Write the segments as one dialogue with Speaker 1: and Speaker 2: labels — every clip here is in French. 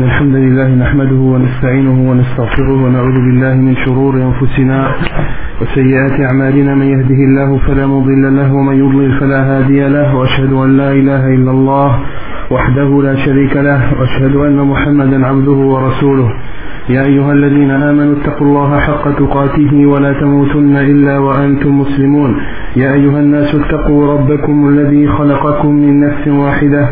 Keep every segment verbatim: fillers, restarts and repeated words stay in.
Speaker 1: إن الحمد لله نحمده ونستعينه ونستغفره ونعوذ بالله من شرور أنفسنا وسيئات أعمالنا. من يهده الله فلا مضل له ومن يضلل فلا هادي له، وأشهد أن لا إله إلا الله وحده لا شريك له، وأشهد أن محمدا عبده ورسوله. يا أيها الذين آمنوا اتقوا الله حق تقاته ولا تموتن إلا وأنتم مسلمون. يا أيها الناس اتقوا ربكم الذي خلقكم من نفس واحدة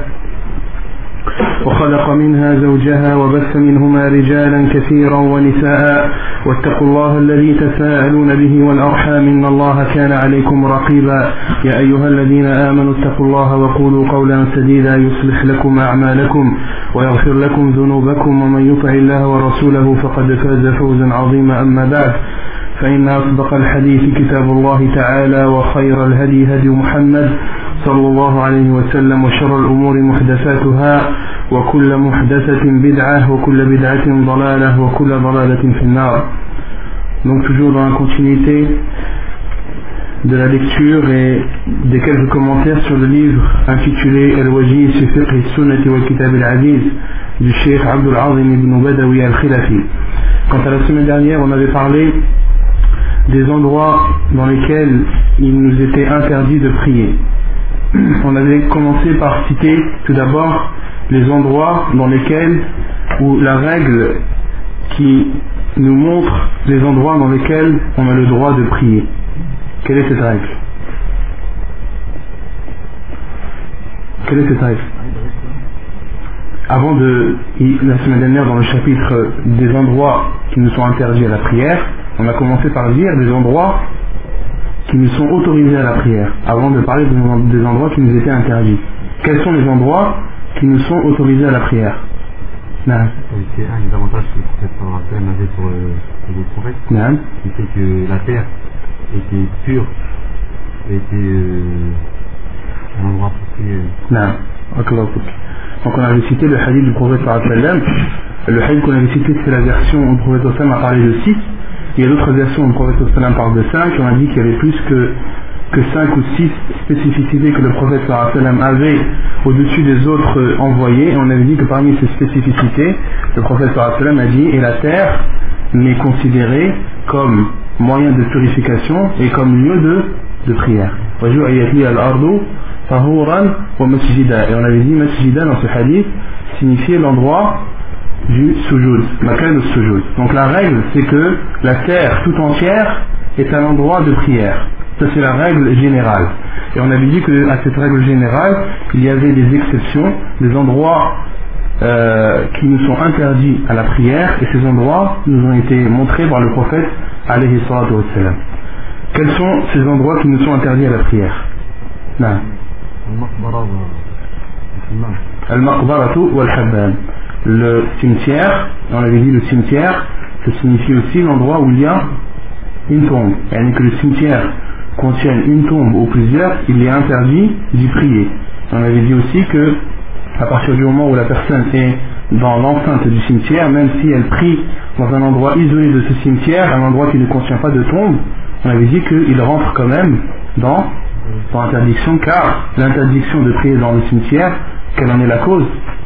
Speaker 1: وخلق منها زوجها وبث منهما رجالا كثيرا ونساء، واتقوا الله الذي تساءلون به والأرحام إن الله كان عليكم رقيبا. يا أيها الذين آمنوا اتقوا الله وقولوا قولا سديدا يصلح لكم أعمالكم ويغفر لكم ذنوبكم، ومن يطع الله ورسوله فقد فاز فوزا عظيما. أما بعد، فإن أصدق الحديث كتاب الله تعالى، وخير الهدي هدي محمد صلى الله عليه وسلم، وشر الأمور محدثاتها، وكل محدثة بدعة وكل بدعة ضلالة وكل ضلالة في النار. Donc toujours dans la continuité de la lecture et des quelques commentaires sur le livre intitulé Al-Wajiz fi Fiqh al-Sunnah wa Kitab al-Aziz du Cheikh Abdul Azim ibn Badawi al-Khilafi. Quant à la semaine dernière, on avait parlé des endroits dans lesquels il nous était interdit de prier. On avait commencé par citer tout d'abord les endroits dans lesquels, ou la règle qui nous montre les endroits dans lesquels on a le droit de prier. Quelle est cette règle? Quelle est cette règle? Avant de, la semaine dernière dans le chapitre des endroits qui nous sont interdits à la prière, on a commencé par dire des endroits qui nous sont autorisés à la prière, avant de parler des endroits qui nous étaient interdits. Quels sont les endroits qui nous sont autorisés à la prière? Non.
Speaker 2: C'est un des avantages que le prophète sallallahu avait sur le prophète,
Speaker 1: non.
Speaker 2: Qui fait que la terre était pure, était euh, un endroit pour prier.
Speaker 1: Non. Donc on avait cité le hadith du prophète sallallahu alayhi wa sallam. Le hadith qu'on avait cité, c'est la version où le prophète sallallahu alayhi wa sallam a parlé de six. Il y a d'autres versions où le prophète sallallahu alayhi wa sallam parle de cinq. On a dit qu'il y avait plus que que cinq ou six spécificités que le prophète sallallahu alayhi wa sallam avait au-dessus des autres envoyés, et on avait dit que parmi ces spécificités, le prophète sallallahu alayhi wa sallam a dit: et la terre n'est considérée comme moyen de purification et comme lieu de, de prière. Et on avait dit masjida dans ce hadith signifiait l'endroit du sujoud, makan de sujoud. Donc la règle, c'est que la terre tout entière est un endroit de prière. Ça, c'est la règle générale. Et on avait dit qu'à cette règle générale, il y avait des exceptions, des endroits euh, qui nous sont interdits à la prière, et ces endroits nous ont été montrés par le prophète alayhi salatu wassalam. Quels sont ces endroits qui nous sont interdits à la prière? Non. Al-Maqbaratu wal-Hammam. Le cimetière, on avait dit le cimetière, ça signifie aussi l'endroit où il y a une tombe. Et que le cimetière contienne une tombe ou plusieurs, il est interdit d'y prier. On avait dit aussi que à partir du moment où la personne est dans l'enceinte du cimetière, même si elle prie dans un endroit isolé de ce cimetière, un endroit qui ne contient pas de tombe, on avait dit qu'il rentre quand même dans, dans l'interdiction, car l'interdiction de prier dans le cimetière, quelle en est la cause?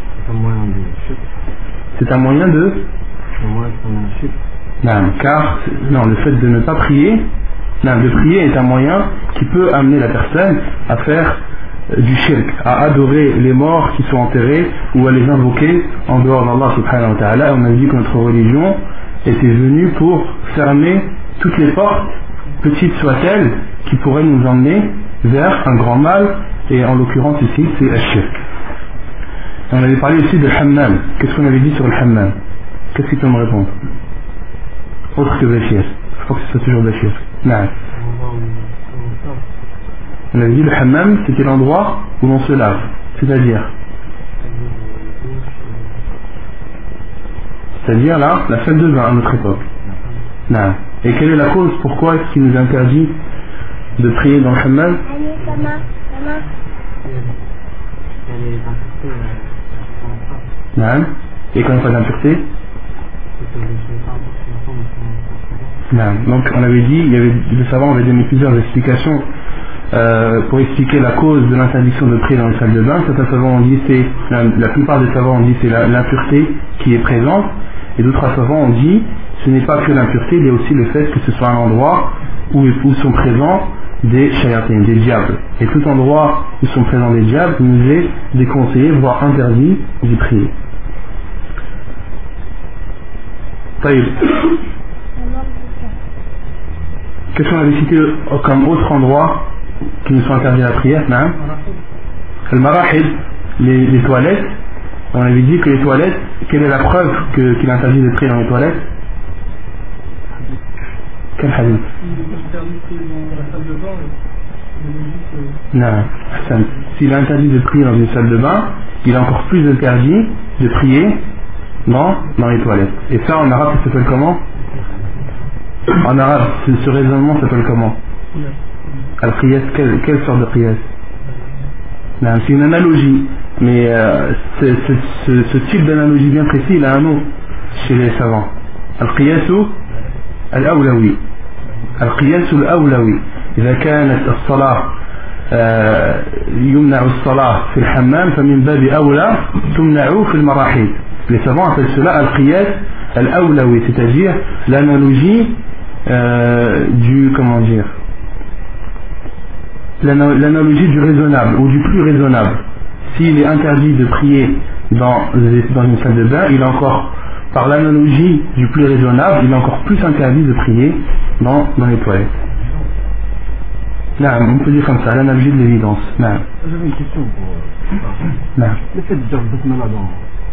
Speaker 1: C'est un moyen de... Non, car non, le fait de ne pas prier, non, de prier est un moyen qui peut amener la personne à faire du shirk, à adorer les morts qui sont enterrés ou à les invoquer en dehors d'Allah subhanahu wa ta'ala. On a dit que notre religion était venue pour fermer toutes les portes, petites soient-elles, qui pourraient nous emmener vers un grand mal, et en l'occurrence ici c'est le shirk. On avait parlé aussi de hammam. Qu'est-ce qu'on avait dit sur le hammam? Qu'est-ce qu'il peut me répondre? Autre que Bachir. Je crois que c'est toujours Bachir. Non. On avait dit le hammam, c'était l'endroit où l'on se lave. C'est-à-dire C'est-à-dire là, la salle de bain à notre époque. Non. Et quelle est la cause? Pourquoi est-ce qu'il nous interdit de prier dans le hammam? Non. Et quand il n'y a pas d'impureté? Non. Donc on avait dit, il y avait, les savants avaient donné plusieurs explications euh, pour expliquer la cause de l'interdiction de prier dans les salles de bain. Certains savants ont dit c'est, la, la plupart des savants ont dit c'est la, l'impureté qui est présente, et d'autres savants ont dit ce n'est pas que l'impureté, il y a aussi le fait que ce soit un endroit où, où sont présents des shayatin, des diables. Et tout endroit où sont présents des diables nous est déconseillé, voire interdit d'y prier. Taïb. Qu'est-ce qu'on avait cité comme autre endroit qui nous sont interdits à la prière? Non. Le marahid, les, les toilettes. On avait dit que les toilettes, quelle est la preuve que, qu'il est interdit de prier dans les toilettes? Quel hadith? Non, s'il est interdit de prier dans une salle de bain, il est encore plus interdit de prier dans, dans les toilettes. Et ça en arabe ça s'appelle comment? En arabe, ce, ce raisonnement s'appelle comment? Al-qiyas, quelle, quelle sorte de qiyas? Non, c'est une analogie, mais euh, c'est, c'est, ce, ce type d'analogie bien précis, il a un nom chez les savants. Al-qiyasu al-awlawi. Al-qiyasu al-awlawi. إذا كانت الصلاة يمنع الصلاة في الحمام فمن باب أولى تمنع في المراحيض. Les savants appellent cela al-qiyas al-awlawi, c'est-à-dire l'analogie euh, du, comment dire, l'analogie du raisonnable ou du plus raisonnable. S'il est interdit de prier dans, dans une salle de bain, il est encore, par l'analogie du plus raisonnable, il est encore plus interdit de prier dans, dans les toilettes. Non, on peut dire comme ça, l'analogie de l'évidence. Non.
Speaker 2: J'avais une question pour.
Speaker 1: Non.
Speaker 2: Le fait de dire le basmala dans.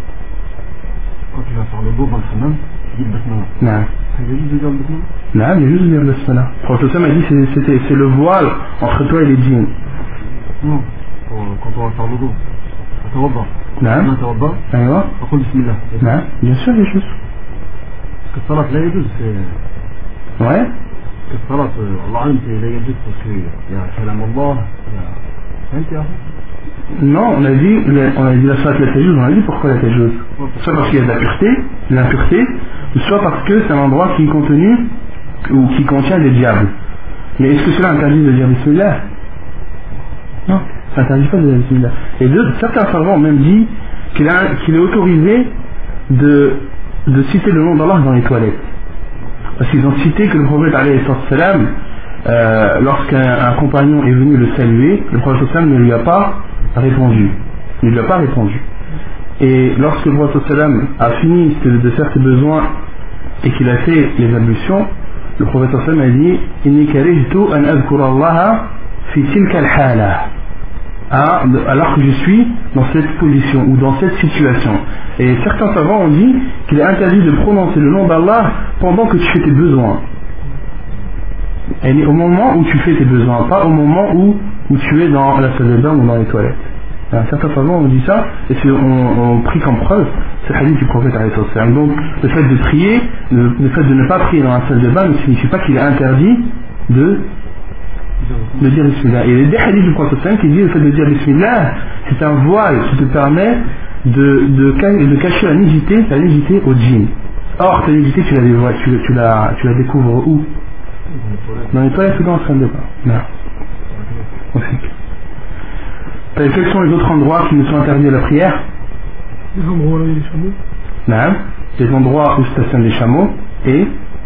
Speaker 2: Quand tu vas faire le dos dans le hammam, tu dis le basmala.
Speaker 1: Non.
Speaker 2: C'est juste de dire le basmala?
Speaker 1: Non, il est juste de dire le basmala. Le prophète m'a dit que c'était, c'est le voile entre toi et les djinns.
Speaker 2: Non, pour, quand on va faire le dos. Atawadda.
Speaker 1: Non.
Speaker 2: Non, atawadda.
Speaker 1: Aïwa.
Speaker 2: On dit bismillah.
Speaker 1: Non, bien sûr, il est juste.
Speaker 2: Parce que salat, là, il y a c'est.
Speaker 1: Ouais.
Speaker 2: الصلاة الله أعلم لا يجوز تصوير يا كلام الله يا فهمت يا أخي؟
Speaker 1: Non, on a dit, on a dit la salat la tajouz, on a dit pourquoi la tajouz. Soit parce qu'il y a de la pureté, de l'impureté, soit parce que c'est un endroit qui est contenu ou qui contient des diables. Mais est-ce que cela interdit de dire bismillah? Non, ça interdit pas de dire bismillah. Et deux, certains savants ont même dit qu'il, a, qu'il est autorisé de, de citer le nom d'Allah dans les toilettes. Parce qu'ils ont cité que le prophète alayhi salam, euh, lorsqu'un un compagnon est venu le saluer, le prophète sallam ne lui a pas répondu. Ne lui a pas répondu. Et lorsque le prophète sallam a fini de, de faire ses besoins et qu'il a fait les ablutions, le prophète sallam a dit Inni karihtu an adhkura Allah fi tilka al-hala. Alors que je suis dans cette position ou dans cette situation. Et certains savants ont dit qu'il est interdit de prononcer le nom d'Allah pendant que tu fais tes besoins. Et au moment où tu fais tes besoins, pas au moment où, où tu es dans la salle de bain ou dans les toilettes. Alors, certains savants ont dit ça et on, on pris comme preuve ce hadith du prophète alayhi salam. Donc le fait de prier, le, le fait de ne pas prier dans la salle de bain ne signifie pas qu'il est interdit de de dire bismillah. Et il y a des hadiths du prophète qui disent le fait de dire bismillah, c'est un voile qui te permet de, de, de cacher la nudité, la nudité au djinn. Or, ta nudité, tu la, tu, tu la, tu la découvres où? Dans les toilettes ou dans la salle de bain? Non. Quels sont les autres endroits qui nous sont interdits à la prière?
Speaker 3: Les endroits où il y a les chameaux.
Speaker 1: Non. Les endroits où stationnent les chameaux et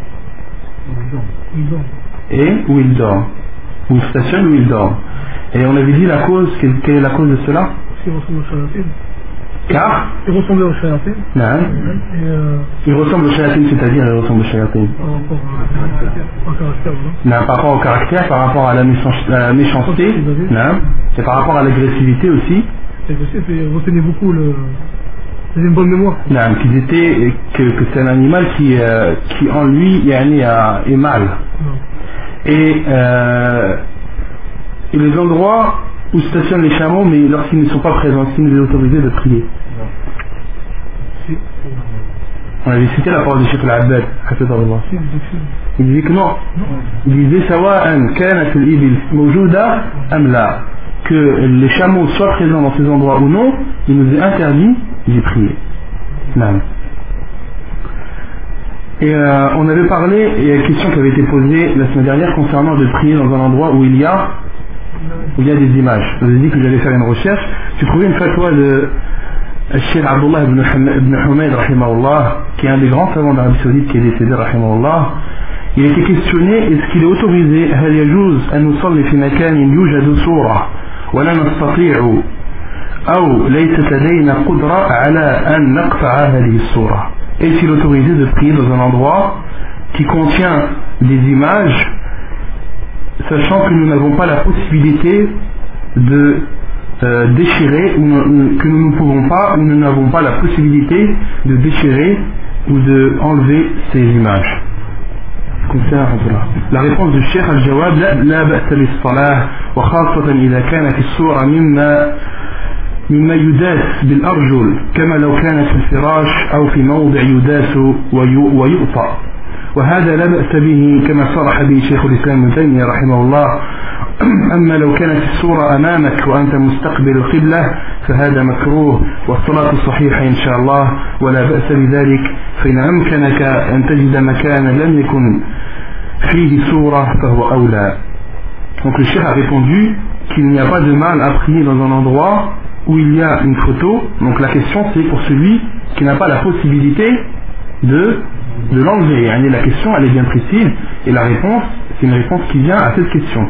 Speaker 1: et où ils dorment. Où ils stationnent, où ils dorment. Et on avait dit la cause, quelle, quelle est la cause de cela?
Speaker 3: Ils ressemblent aux shayatin.
Speaker 1: Car
Speaker 3: Ils ressemblent aux shayatin.
Speaker 1: Non.
Speaker 3: Et euh,
Speaker 1: Ils ressemblent aux shayatin, c'est-à-dire ils ressemblent aux shayatin.
Speaker 3: par rapport à, au caractère, non?
Speaker 1: Non, par rapport au caractère, par rapport à la, méchance, à la méchanceté, non. C'est par rapport à l'agressivité aussi.
Speaker 3: L'agressivité, c'est retenez beaucoup le. C'est une bonne mémoire.
Speaker 1: Non, qu'ils étaient, que, que c'est un animal qui, euh, qui en lui yani, est mal.
Speaker 3: Non.
Speaker 1: Et, euh, et les endroits où stationnent les chameaux, mais lorsqu'ils ne sont pas présents, s'ils nous est autorisé de prier.
Speaker 3: Si.
Speaker 1: On avait cité la parole de Cheikh Al-Abbad,
Speaker 3: Si,
Speaker 1: il disait que non. Il disait sawa'an kanat al-ibil mawjouda am la, que les chameaux soient présents dans ces endroits ou non, il nous est interdit d'y prier. Non. Et euh, on avait parlé, et la question qui avait été posée la semaine dernière concernant de prier dans un endroit où il y a où il y a des images. Je vous ai dit que j'allais faire une recherche. J'ai trouvé une fatwa de Cheikh Abdullah ibn Humayd, rahimahullah, qui est un des grands savants d'Arabie Saoudite qui est décédé, rahimahullah. Il a été questionné, est-ce qu'il est autorisé هل يجوز أن نصلي في مكان يوجد صورة ولا نستطيع أو ليست لدينا قدرة على أن نقطع هذه الصورة. Est-il autorisé de prier dans un endroit qui contient des images, sachant que nous n'avons pas la possibilité de euh, déchirer, ou que nous ne pouvons pas, ou nous n'avons pas la possibilité de déchirer ou de enlever ces images. La réponse du Cheikh Al-Jawab, لا بأس للصلاة وخاصة إذا كانت الصورة مما مما يداس بالأرجل كما لو كانت في الفراش أو في موضع يداس ويؤطأ، وهذا لا بأس به كما صرح به شيخ الإسلام ابن تيمية رحمه الله. أما لو كانت الصورة أمامك وأنت مستقبل القبلة فهذا مكروه، والصلاة صحيحة إن شاء الله ولا بأس بذلك، فإن أمكنك أن تجد مكانا لم يكن فيه صورة فهو أولى. Donc le cheikh a répondu qu'il n'y a pas de mal à prier dans un endroit où il y a une photo. Donc la question c'est pour celui qui n'a pas la possibilité de, de l'enlever. Et la question elle est bien précise et la réponse c'est une réponse qui vient à cette question.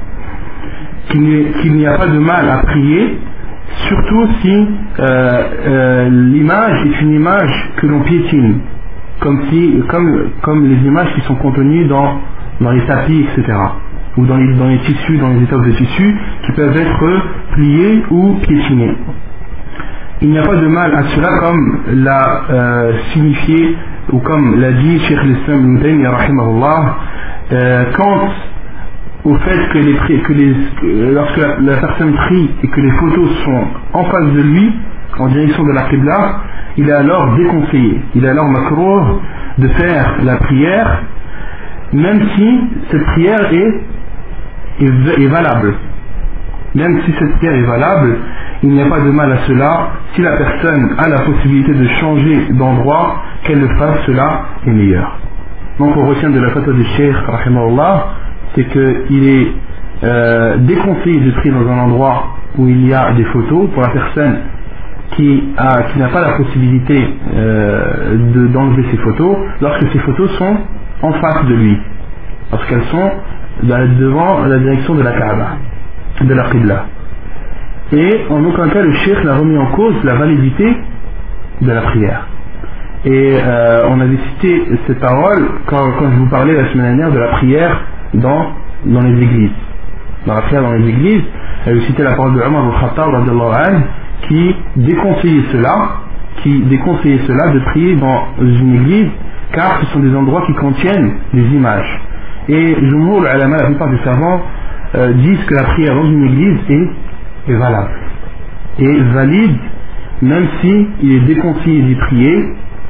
Speaker 1: Qu'il, qu'il n'y a pas de mal à prier, surtout si euh, euh, l'image est une image que l'on piétine, comme, si, comme, comme les images qui sont contenues dans, dans les tapis, et cetera, ou dans les, dans les tissus, dans les étoffes de tissus, qui peuvent être pliés ou piétinés. Il n'y a pas de mal à cela, comme l'a euh, signifié, ou comme l'a dit Cheikh l'Islam ibn Taymiyyah rahimahullah, euh, quand au fait que, les, que les, lorsque la, la personne prie et que les photos sont en face de lui, en direction de la Qibla, il est alors déconseillé, il est alors makrouh de faire la prière, même si cette prière est, est, est valable. Même si cette prière est valable, il n'y a pas de mal à cela. Si la personne a la possibilité de changer d'endroit, qu'elle le fasse, cela est meilleur. Donc on retient de la fatwa du Cheikh rahimahullah, c'est qu'il est euh, déconseillé de prier dans un endroit où il y a des photos pour la personne qui, a, qui n'a pas la possibilité euh, de, d'enlever ces photos, lorsque ces photos sont en face de lui, lorsqu'elles sont devant la direction de la Kaaba, de la Qibla. Et en aucun cas le Cheikh n'a remis en cause la validité de la prière. Et euh, on avait cité cette parole quand, quand je vous parlais la semaine dernière de la prière dans, dans les églises. Dans la prière dans les églises, elle citait la parole de Omar al-Khattab radiyallahu anhu qui déconseillait cela, qui déconseillait cela de prier dans une église, car ce sont des endroits qui contiennent des images. Et Jumhur al-Ulama, la plupart des savants, euh, disent que la prière dans une église est, est valable, et valide, même si il est déconseillé d'y prier,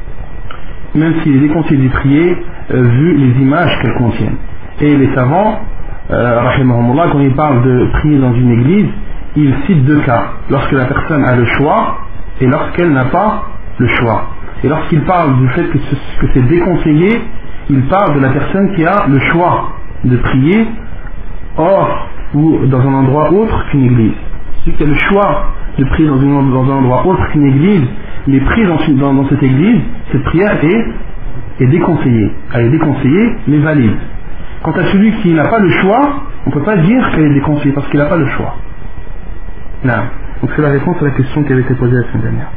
Speaker 1: même s'il est déconseillé d'y prier, euh, vu les images qu'elles contiennent. Et les savants, euh, rahimahumullah, quand ils parlent de prier dans une église, ils citent deux cas. Lorsque la personne a le choix et lorsqu'elle n'a pas le choix. Et lorsqu'ils parlent du fait que, ce, que c'est déconseillé, ils parlent de la personne qui a le choix de prier hors ou dans un endroit autre qu'une église. Celui qui a le choix de prier dans, une, dans un endroit autre qu'une église, les prises dans, dans, dans cette église, cette prière est, est déconseillée. Elle est déconseillée, mais valide. Quant à celui qui n'a pas le choix, on ne peut pas dire qu'elle est déconseillée parce qu'il n'a pas le choix. Non. Donc c'est la réponse à la question qui avait été posée la semaine dernière.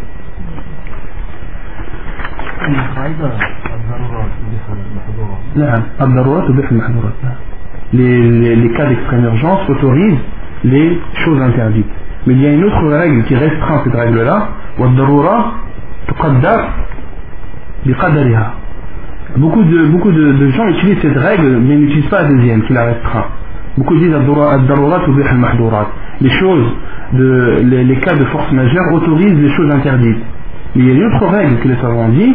Speaker 1: Les, les, les cas d'extrême urgence autorisent les choses interdites. Mais il y a une autre règle qui restreint cette règle-là. Beaucoup de, beaucoup de, de gens utilisent cette règle mais n'utilisent pas la deuxième qui la restreint. Beaucoup disent les choses, de, les, les cas de force majeure autorisent les choses interdites. Mais il y a une autre règle que les savants disent,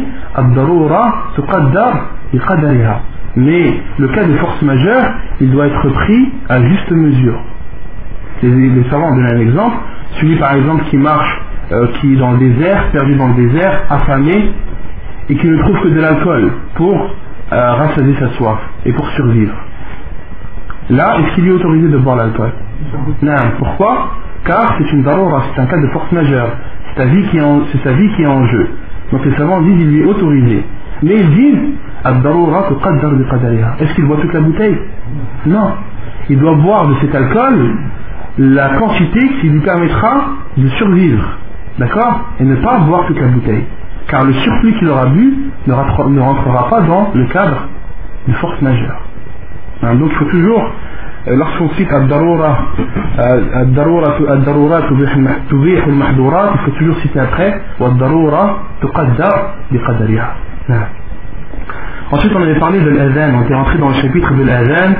Speaker 1: mais le cas de force majeure, il doit être pris à juste mesure. Les, les savants donnent un exemple, celui par exemple qui marche, euh, qui est dans le désert, perdu dans le désert, affamé, et qui ne trouve que de l'alcool pour euh, rassasier sa soif et pour survivre. Là, est-ce qu'il est autorisé de boire l'alcool? Non, pourquoi? Car c'est une daroura, c'est un cas de force majeure. C'est sa vie qui est en, c'est sa vie qui est en jeu. Donc les savants disent il lui est autorisé. Mais ils disent ad-daroura tuqaddar bi qadariha. Est-ce qu'il boit toute la bouteille? Non. Il doit boire de cet alcool la quantité qui lui permettra de survivre. D'accord? Et ne pas boire toute la bouteille. Car le surplus qu'il aura bu ne rentrera, ne rentrera pas dans le cadre de force majeure. Hein, donc il faut toujours, euh, lorsqu'on cite ad-daroura, ad-daroura ad-daroura tubih al-mahdurat, il faut toujours citer après ad-daroura tuqaddar bi qadariha. Ensuite on avait parlé de l'adhan, on était rentré dans le chapitre de l'adhan.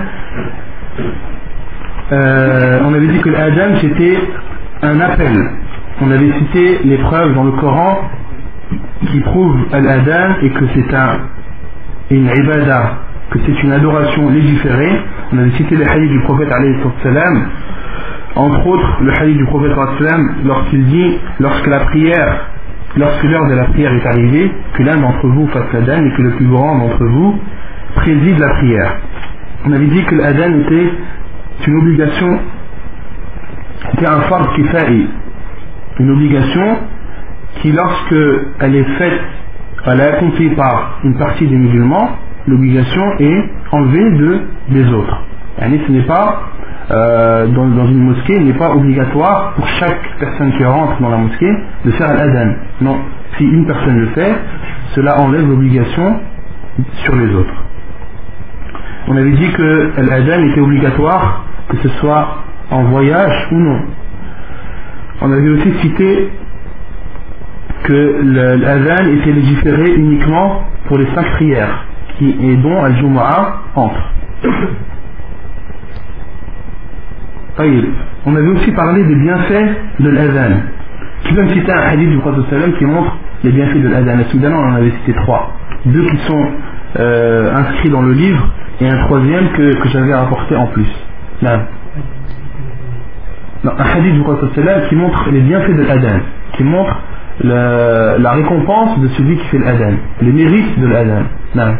Speaker 1: Euh, on avait dit que l'adhan c'était un appel. On avait cité les preuves dans le Coran qui prouvent l'adhan et que c'est un, une ibada, que c'est une adoration légiférée. On avait cité les hadiths du prophète alayhi salam, entre autres le hadith du prophète salam lorsqu'il dit, lorsque la prière, lorsque l'heure de la prière est arrivée, que l'un d'entre vous fasse l'adhan et que le plus grand d'entre vous préside la prière. On avait dit que l'adhan était une obligation, c'était un fard kifa'i, une obligation qui, lorsque elle est faite, elle est accomplie par une partie des musulmans, l'obligation est enlevée de, des autres. Et ce n'est pas, euh, dans, dans une mosquée, il n'est pas obligatoire pour chaque personne qui rentre dans la mosquée de faire l'adhan. Non, si une personne le fait, cela enlève l'obligation sur les autres. On avait dit que l'adhan était obligatoire, que ce soit en voyage ou non. On avait aussi cité que l'adhan était légiféré uniquement pour les cinq prières, qui, et dont Al-Jumu'ah entre. On avait aussi parlé des bienfaits de l'adhan. Qui peut me citer un hadith du prophète sallam qui montre les bienfaits de l'adhan? À Soudan, on en avait cité trois. Deux qui sont euh, inscrits dans le livre et un troisième que, que j'avais rapporté en plus. Là. Non, un hadith du prophète sallam qui montre les bienfaits de l'adhan, qui montre la, la récompense de celui qui fait l'adhan, les mérites de l'adhan. Là.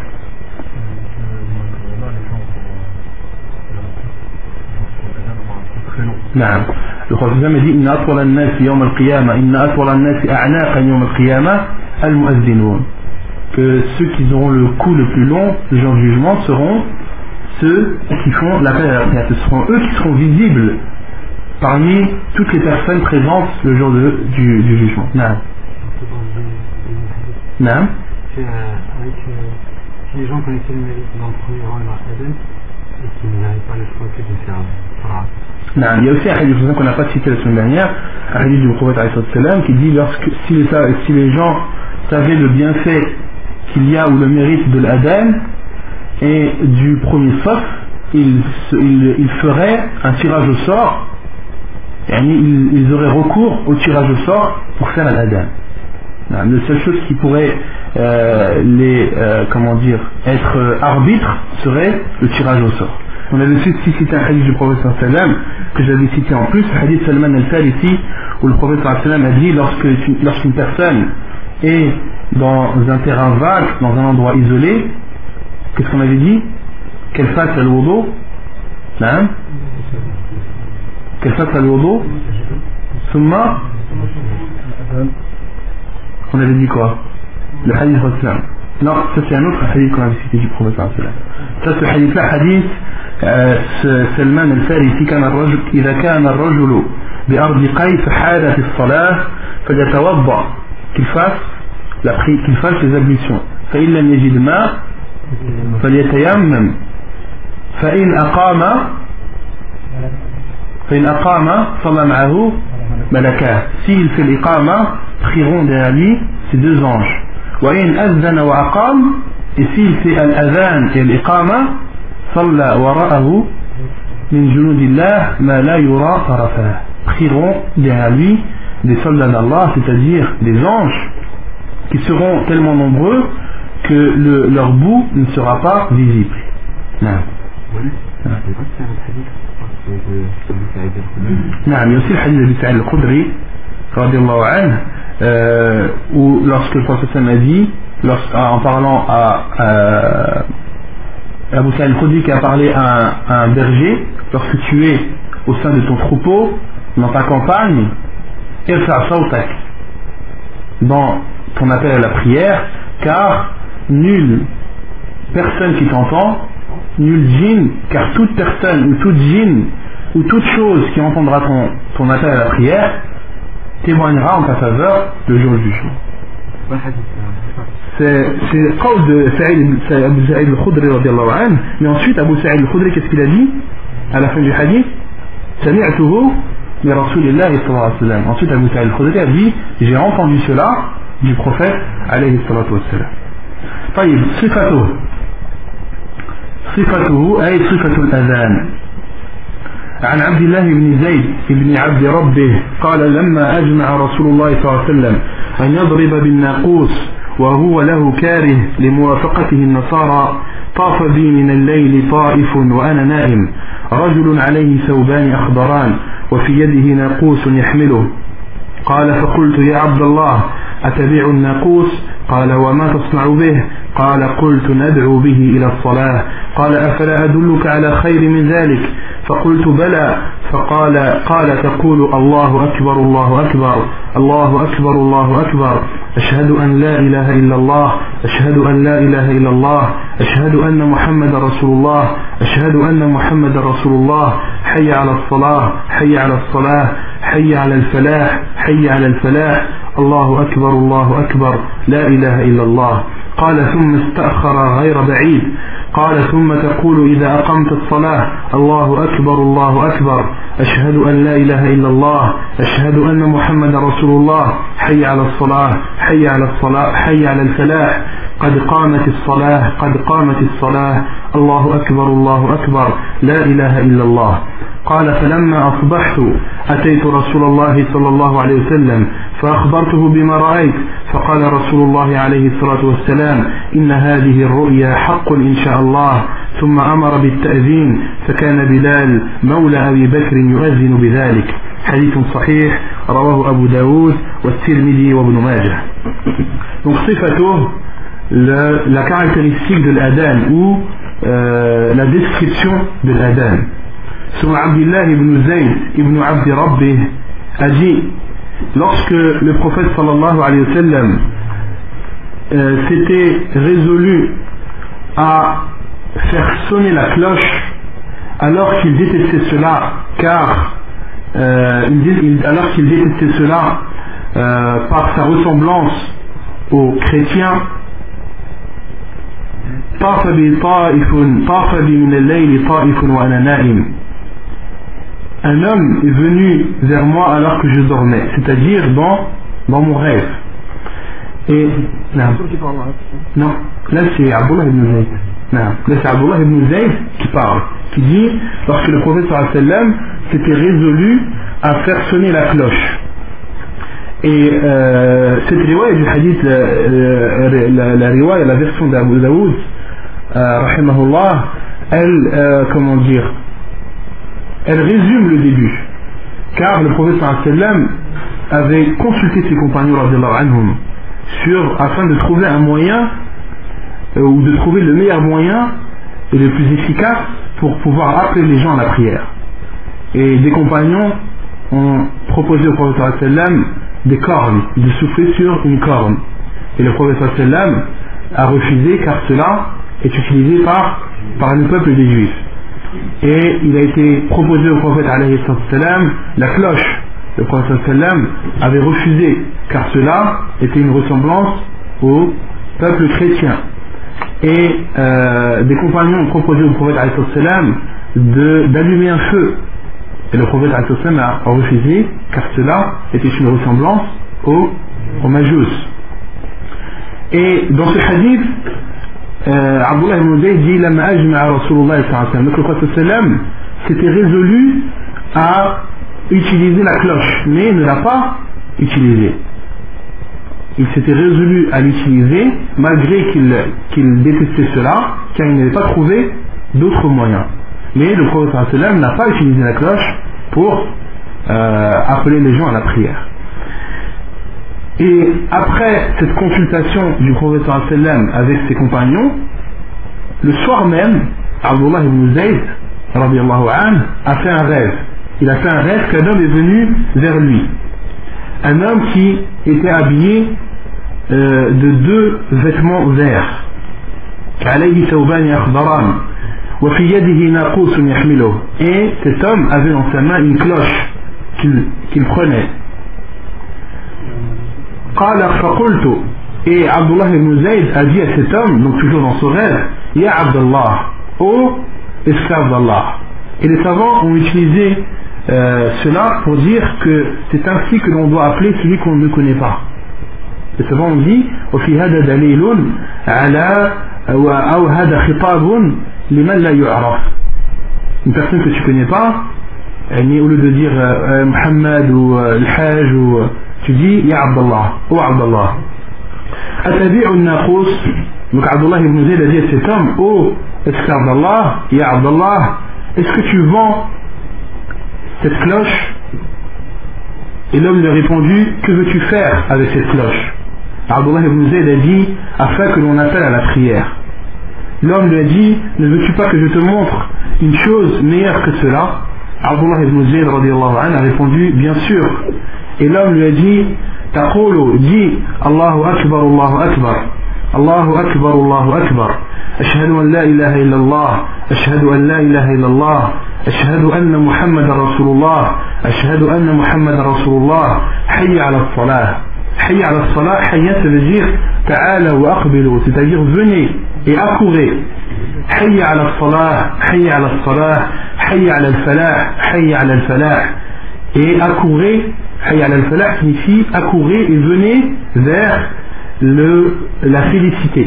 Speaker 1: نعم الرسول صلى الله عليه وسلم إن أطول الناس يوم القيامة إن أطول الناس أعناقا يوم القيامة المؤذنون, que ceux qui auront le cou le plus long le jour du jugement seront ceux qui font l'appel à la prière. Ce seront eux qui seront visibles parmi toutes les personnes présentes le jour de, du, du jugement. نعم نعم
Speaker 2: Si les gens connaissaient le mérite dans le premier rang et dans l'adhan et qu'ils n'avaient pas le choix que de faire Farah.
Speaker 1: Non, il y a aussi un hadith qu'on n'a pas cité la semaine dernière, un hadith du prophète alayhi salam qui dit lorsque si les, si les gens savaient le bienfait qu'il y a ou le mérite de l'adhan et du premier sauf, ils, ils, ils feraient un tirage au sort, et ils, ils auraient recours au tirage au sort pour faire l'adhan. La seule chose qui pourrait euh, les euh, comment dire être euh, arbitre serait le tirage au sort. On avait aussi cité un hadith du prophète sallallahu alayhi wa sallam que j'avais cité en plus, le hadith Salman al-Farisi, où le prophète sallallahu alayhi wa sallam a dit lorsque, lorsqu'une personne est dans un terrain vague, dans un endroit isolé, qu'est-ce qu'on avait dit? Qu'elle fasse al-wudu, hein? Qu'elle fasse al-wudu, summa, on avait dit quoi? Le hadith du prophète. Non, ça c'est un autre hadith qu'on avait cité du prophète sallallahu alayhi wa sallam. Ça ce hadith là, hadith سلمان الفارسي كان الرجل إذا كان الرجل بأرض قيس فحال في الصلاة فليتوضأ qu'il fasse la prière, qu'il fasse les ablutions. فإن لم يجد ماء فليتيمم فإن أقام فإن أقام صلى معه ملكان. S'il fait l'iqama, prieront derrière lui ces deux anges. وإن أذن وأقام, et s'il fait al-adhan et l'iqama, صلى وراءه من جنود الله ما لا يرى طرفاه, prieront derrière lui des soldats d'Allah, c'est-à-dire des anges qui seront tellement nombreux que le, leur bout ne sera pas visible. Non. Non, il y a aussi le hadith d'Abi Sa'id al-Khudri radiyallahu anhu, euh, où lorsque le prophète a dit, en parlant à, à Abu Sa'id al-Khudri qui a parlé à un, à un berger, lorsque tu es au sein de ton troupeau, dans ta campagne, irfa' sawtak, dans ton appel à la prière, car nulle personne qui t'entend, nul djinn, car toute personne ou toute djinn ou toute chose qui entendra ton, ton appel à la prière témoignera en ta faveur le jour du jugement. C'est le qawl de Saïd, Abu Saïd al-Khudri radiallahu anhu, mais ensuite Abu Saïd al-Khudri, qu'est-ce qu'il a dit à la fin du hadith? Sami'tuhu min Rasulillahi sallallahu alayhi wa sallam. Ensuite Abu Saïd al-Khudri a dit, j'ai entendu cela du prophète alayhi salatu wa sallam. طيب صفته صفته أي صفة الأذان. عن عبد الله بن زيد بن عبد ربه قال لما أجمع رسول الله صلى الله عليه وسلم أن يضرب بالناقوس وهو له كاره لموافقته النصارى طاف بي من الليل طائف وأنا نائم رجل عليه ثوبان أخضران وفي يده ناقوس يحمله قال فقلت يا عبد الله أتبيع الناقوس قال وما تصنع به قال قلت ندعو به إلى الصلاة قال أفلا أدلك على خير من ذلك فقلت بلى فقال قال تقول الله أكبر الله أكبر الله أكبر الله أكبر أشهد أن لا إله إلا الله أشهد أن لا إله إلا الله أشهد أن محمد رسول الله أشهد أن محمد رسول الله حي على الصلاة حي على الصلاة حي على الفلاح حي على الفلاح الله أكبر الله أكبر لا إله إلا الله قال ثم استأخر غير بعيد قال ثم تقول إذا أقمت الصلاة الله أكبر الله أكبر أشهد أن لا إله إلا الله أشهد أن محمد رسول الله حي على الصلاة حي على الصلاة حي على الفلاح قد قامت الصلاة قد قامت الصلاة الله أكبر الله أكبر لا إله إلا الله قال فلما أصبحت أتيت رسول الله صلى الله عليه وسلم فأخبرته بما رأيت فقال رسول الله عليه الصلاة والسلام إن هذه الرؤيا حق إن شاء الله ثم أمر بالتأذين فكان بلال مولى أبي بكر يؤذن بذلك حديث صحيح رواه أبو داود والترمذي وابن ماجه. Donc صفته la caractéristique de l'adhan ou euh, la description de l'adhan. Selon Abdullah ibn Zayd ibn Abd Rabbih a dit, lorsque le prophète sallallahu alayhi wa sallam euh, s'était résolu à faire sonner la cloche alors qu'il détestait cela car euh, il, alors qu'il détestait cela euh, par sa ressemblance aux chrétiens, طاف بي طائف طاف بي من الليل طائف وأنا نائم. Un homme est venu vers moi alors que je dormais, c'est-à-dire dans, dans mon rêve. Et non, non là c'est Abdullah ibn Zayd. Non, là c'est Abdullah ibn Zayd qui parle, qui dit lorsque le prophète sallallahu alayhi wa sallam s'était résolu à faire sonner la cloche. Et euh, cette riwaya du hadith, la, la, la, la riwaya, la version d'Abu Daoud, euh, rahimahullah, elle, euh, comment dire, elle résume le début, car le prophète sallallahu alayhi wa sallam avait consulté ses compagnons radiyallahu anhum sur, afin de trouver un moyen euh, ou de trouver le meilleur moyen et le plus efficace pour pouvoir appeler les gens à la prière. Et des compagnons ont proposé au prophète sallallahu alayhi wa sallam des cornes, de souffler sur une corne, et le prophète sallallahu alayhi wa sallam a refusé car cela est utilisé par, par le peuple des Juifs. Et il a été proposé au prophète alayhi salam la cloche. Le prophète sallam avait refusé car cela était une ressemblance au peuple chrétien. Et euh, des compagnons ont proposé au prophète alayhi salam d'allumer un feu. Et le prophète alayhi salam a refusé car cela était une ressemblance au, au Majus. Et dans ce hadith, Euh, Abdullah ibn Zayd dit Lama ajma'a Rasulullah sallallahu alayhi wa sallam. Donc le prophète sallam s'était résolu à utiliser la cloche, mais ne l'a pas utilisée. Il s'était résolu à l'utiliser malgré qu'il qu'il détestait cela, car il n'avait pas trouvé d'autres moyens. Mais le prophète sallallahu alayhi wa sallam n'a pas utilisé la cloche pour euh, appeler les gens à la prière. Et après cette consultation du prophète sallallahu alayhi wa sallam avec ses compagnons, le soir même, Abdullah ibn Zayd radiyallahu anhu a fait un rêve. il a fait un rêve qu'un homme est venu vers lui. Un homme qui était habillé euh, de deux vêtements verts. عليه ثوبان أخضران وفي يده ناقوس يحمله. Et cet homme avait dans sa main une cloche qu'il, qu'il prenait. قال فقلت. Et Abdullah ibn Zayd a dit à cet homme, donc toujours dans ce rêve, Ya Abdullah, ô esclave d'Allah. Et les savants ont utilisé euh, cela pour dire que c'est ainsi que l'on doit appeler celui qu'on ne connaît pas. Les savants ont dit وفي هذا دليل على أو هذا خطاب لمن لا يعرف. Une personne que tu connais pas, au lieu de dire euh, Muhammad ou euh, Al-Hajj, ou euh, tu dis Ya Abdullah, ô Abdullah. أتبيع الناقوس. Donc Abdullah ibn Zayd a dit à cet homme, ô esclave d'Allah, Ya Abdullah, est-ce que tu vends cette cloche? Et l'homme lui a répondu, que veux-tu faire avec cette cloche? Abdullah ibn Zayd a dit, afin que l'on appelle à la prière. L'homme lui a dit, ne veux-tu pas que je te montre une chose meilleure que cela? Abdullah ibn Zayd radiallahu anhu a répondu, bien sûr. Et l'homme lui a dit, taqulu, dis, Allahu Akbar, Allahu Akbar, Allahu Akbar, Allahu Akbar, ashhadu an la ilaha illallah, ashhadu an la ilaha illallah, ashhadu anna Muhammadan Rasulullah, ashhadu anna Muhammadan Rasulullah, hayya ala salah. Hayya ala salah, hayya ça veut dire ta'ala wa aqbilu, c'est-à-dire venez et accourez. Hayya ala salah, hayya ala salah, hayya ala al-falah, hayya ala al-falah. Et accourez, hayya ala al-falah signifie accourez et venez vers le, la félicité.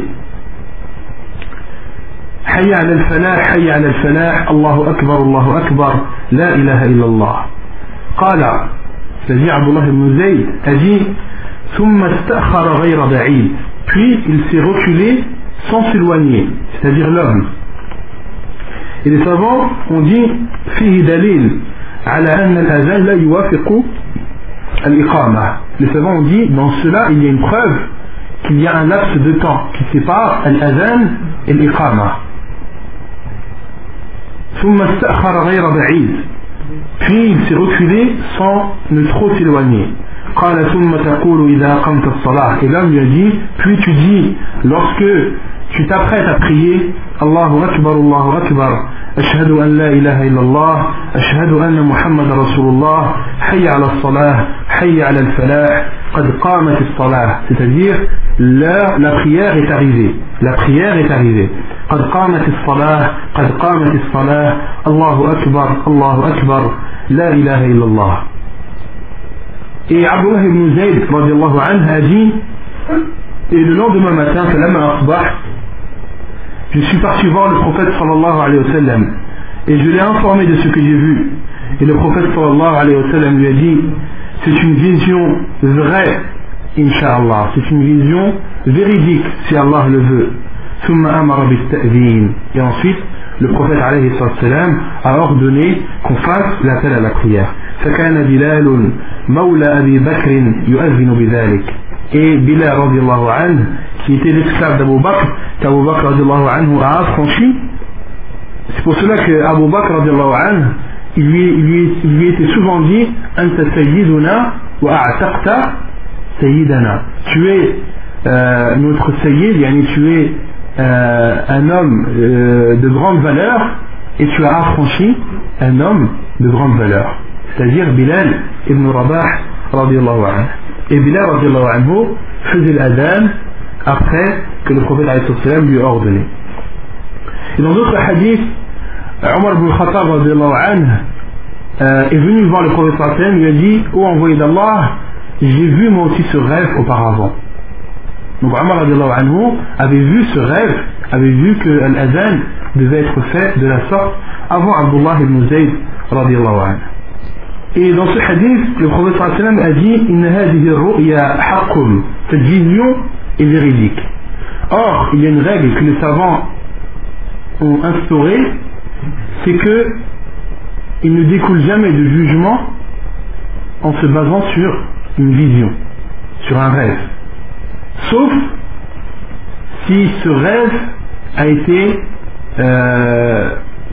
Speaker 1: Hayya ala al-falah, hayya ala al-falah, Allahu akbar, Allahu akbar, la ilaha illallah. Qala, c'est-à-dire Abdullah ibn Zayd a dit ثم استأخر غير بعيد. Puis il s'est reculé sans s'éloigner, c'est-à-dire l'homme. Et les savants ont dit فيه دليل على أن الأذان لا يوافق الإقامة. Les savants ont dit dans cela il y a une preuve qu'il y a un laps de temps qui sépare الأذان et الإقامة. ثم استأخر غير بعيد. Puis il s'est reculé sans ne trop s'éloigner. قال ثم تقول إذا قمت الصلاة. Et l'homme lui a dit, puis tu dis lorsque tu t'apprêtes à prier, Allahu Akbar, Allahu Akbar, ashhadu an la ilaha illallah, ashhadu anna Muhammad Rasulullah, hayya ala salah, hayya ala al-falah, qad qamat as-salah. C'est-à-dire la, la prière est arrivée, la prière est arrivée. قد قامت الصلاة قد قامت الصلاة الله أكبر الله أكبر لا إله إلا الله. Et Abdullah ibn Zayd radiallahu anhu a dit, et le lendemain matin, je suis parti voir le prophète sallallahu alayhi wa sallam et je l'ai informé de ce que j'ai vu. Et le prophète sallallahu alayhi wa sallam lui a dit, c'est une vision vraie, Inch'Allah, c'est une vision véridique si Allah le veut. Et ensuite, le prophète alayhi salam a ordonné qu'on fasse l'appel à la prière. فكان بلال مولى أبي بكر يؤذن بذلك. Et Bilal radiallahu anhu, qui était l'esclave d'Abu Bakr, qu'Abu Bakr radiallahu anhu a affranchi. C'est pour cela qu'Abu Bakr radiallahu anhu, il lui, il lui, il lui était souvent dit Anta sayyiduna wa a'taqta sayyidana. Tu es euh, notre sayyid, yani tu es euh, un homme euh, de grande valeur et tu as affranchi un homme de grande valeur. C'est-à-dire Bilal ibn Rabah radiallahu anhu. Et Bilal radiallahu anhu faisait l'adhan après que le prophète alayhi salam lui a ordonné. Et dans d'autres hadiths, Omar ibn Khattab radiallahu anhu euh, est venu voir le prophète sallallahu alayhi wa sallam, lui a dit, ô envoyé d'Allah, j'ai vu moi aussi ce rêve auparavant. Donc Omar radiallahu anhu avait vu ce rêve, avait vu que l'adhan devait être fait de la sorte avant Abdullah ibn Zayd radiallahu anhu. Et dans ce hadith, le prophète sallallahu alayhi wa sallam a dit Inna hadhihi ar-ru'ya haqqun. Cette vision est véridique. Or, il y a une règle que les savants ont instaurée, c'est que il ne découle jamais de jugement en se basant sur une vision, sur un rêve. Sauf si ce rêve a été euh,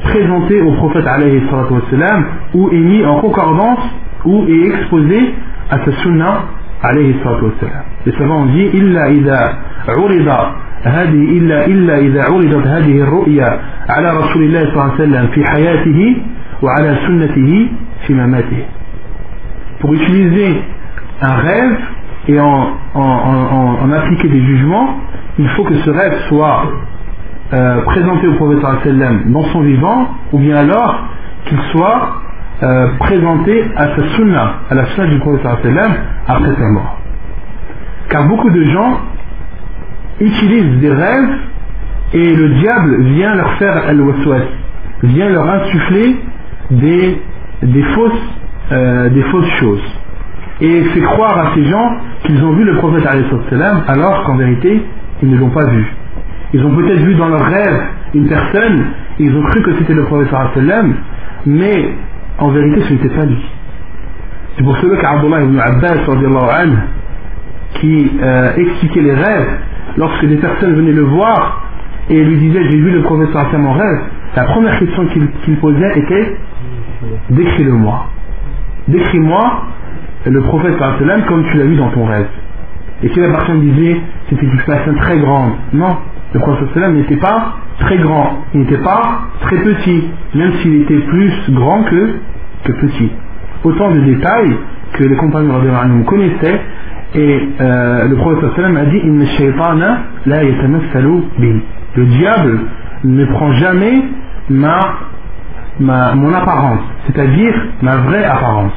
Speaker 1: présenté au prophète alayhi salatu wassalam, ou est mis en concordance, ou est exposé à sa sunna alayhi salatu wassalam. Les savants ont dit illa idha urida هذه إلا إلا إذا عرضت هذه الرؤيا على رسول الله صلى الله عليه وسلم في حياته وعلى سنته في مماته. Pour utiliser un rêve et en, en, en, en appliquer des jugements, il faut que ce rêve soit euh, présenté au prophète sallallahu alayhi wa sallam dans son vivant, ou bien alors qu'il soit euh, présenté à sa sunna, à la sunna du prophète sallallahu alayhi wa sallam après sa mort. Car beaucoup de gens utilisent des rêves et le diable vient leur faire al-waswas, vient leur insuffler des, des, fausses, euh, des fausses choses et fait croire à ces gens qu'ils ont vu le prophète alayhi salam alors qu'en vérité ils ne l'ont pas vu. Ils ont peut-être vu dans leur rêve une personne et ils ont cru que c'était le prophète alayhi salam, mais en vérité ce n'était pas lui. C'est pour cela qu'Abdullah ibn Abbas anhu, qui euh, expliquait les rêves, lorsque des personnes venaient le voir et lui disaient j'ai vu le prophète sallallahu alayhi wa sallam en rêve, la première question qu'il, qu'il posait était décris-le-moi, décris-moi le prophète sallallahu alayhi wa sallam comme tu l'as vu dans ton rêve. Et si la personne disait c'était une personne très grande, non, le prophète sallallahu alayhi wa sallam n'était pas très grand, il n'était pas très petit, même s'il était plus grand que, que petit. Autant de détails que les compagnons radhiyallahu anhum connaissaient. Et euh, le prophète sallam a dit Inna shaytana la yatamassalu bi. Le diable ne prend jamais ma, ma, mon apparence, c'est-à-dire ma vraie apparence.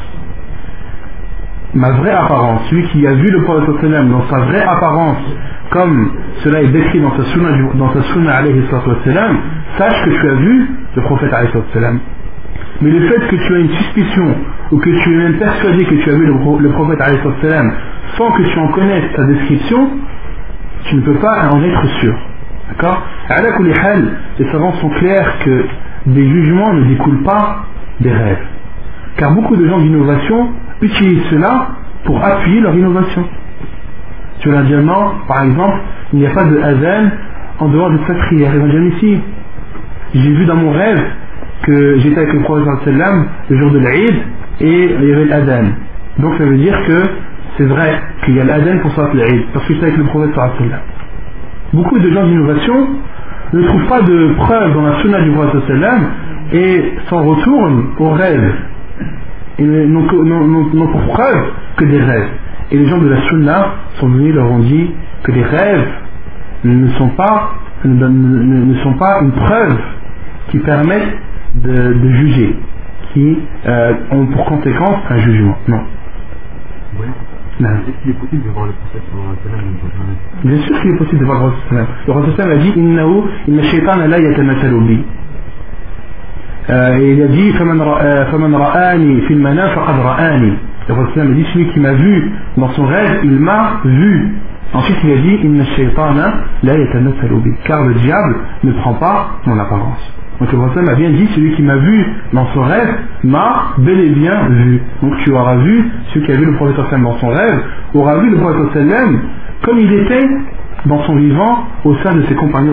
Speaker 1: Ma vraie apparence. Celui qui a vu le prophète sallam dans sa vraie apparence, comme cela est décrit dans sa sunna, dans sa sunna alayhi sallam, sache que tu as vu le prophète alayhi sallam. Mais le fait que tu as une suspicion ou que tu es même persuadé que tu as vu le, le prophète alayhi sallam sans que tu en connaisses sa description, tu ne peux pas en être sûr. D'accord ? Ala kulli hal, les savants sont clairs que des jugements ne découlent pas des rêves. Car beaucoup de gens d'innovation utilisent cela pour appuyer leur innovation. Tu vas dire non, par exemple, il n'y a pas de adhan en dehors de cette prière. Ils vont dire ici, j'ai vu dans mon rêve que j'étais avec le prophète sallam le jour de l'Aïd et il y avait l'adhan. Donc ça veut dire que c'est vrai qu'il y a l'adhan pour salat l'Aïd parce que j'étais avec le prophète sallam. Beaucoup de gens d'innovation ne trouvent pas de preuve dans la sunna du prophète sallam et s'en retournent aux rêves. Ils n'ont, n'ont, n'ont, n'ont pour preuve que des rêves. Et les gens de la sunna sont venus, leur ont dit que les rêves ne sont pas, ne, ne, ne sont pas une preuve qui permet de, de juger, qui euh, ont pour conséquence un jugement. Non.
Speaker 2: Oui.
Speaker 1: Non.
Speaker 2: Est-ce qu'il est possible de voir le prophète sallallahu alayhi wa sallam?
Speaker 1: Bien sûr qu'il est possible de voir le prophète sallallahu alayhi wa sallam. Le prophète sallallahu alayhi wa sallam a dit Innahu inna shaytana la yatamathalu bi. Et il a dit Faman ra'ani fil manam faqad ra'ani. Le prophète sallallahu alayhi wa sallam a dit celui qui m'a vu dans son rêve, il m'a vu. Ensuite il a dit Inna shaytana la yatamathalu bi. Car le diable ne prend pas mon apparence. Donc le prophète m'a bien dit celui qui m'a vu dans son rêve m'a bel et bien vu. Donc tu auras vu, celui qui a vu le prophète dans son rêve aura vu le prophète comme il était dans son vivant au sein de ses compagnons.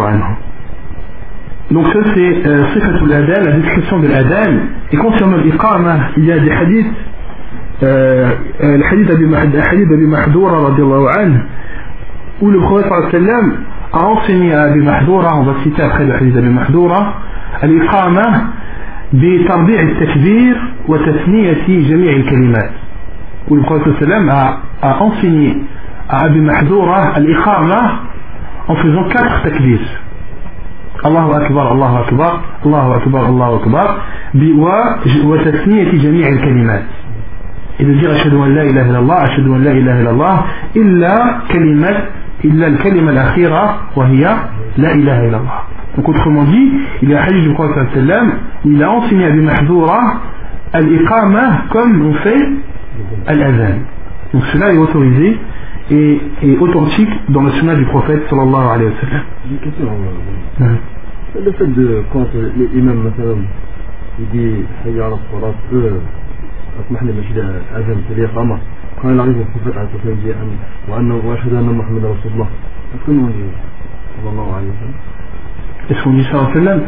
Speaker 1: Donc ça c'est sifatul adhan, la description de l'adhan. Et concernant l'iqama, il y a des hadiths, euh, le hadith d'Abi Mahdoura radiallahu anhu, où le prophète a enseigné à Abi Mahdoura, on va citer après le hadith d'Abi Mahdoura, al-iqama بتربيع التكبير وتثنية جميع الكلمات. Où le prophète sallam a, a enseigné à Abi Mahdoura al-iqama en faisant quatre takbir. Allahu Akbar, Allahu Akbar, Allahu Akbar, Allahu Akbar, وتثنية جميع الكلمات. Et de dire ashhadu an la ilaha illallah, ashhadu an la ilaha illallah, illa kalimat, illa al-kalima al-akhira, wa hiya la ilaha illallah. Donc autrement dit, il y a un hadith du prophète sallam où il a enseigné à Abi Mahdoura al-iqama comme on fait al-adhan. Donc cela est autorisé et, et authentique dans le sunna du prophète sallallahu alayhi wa sallam.
Speaker 2: J'ai une question. Euh, le fait de quand l'imam مثلا يدي حي على الصلاة أسمح لي مشي أذن في الإقامة quand il arrive au prophète عليه الصلاة والسلام dit وأنه وأشهد أن محمد رسول الله est-ce qu'on dit sallallahu alayhi wa sallam?
Speaker 1: Est-ce qu'on dit ça en sallam?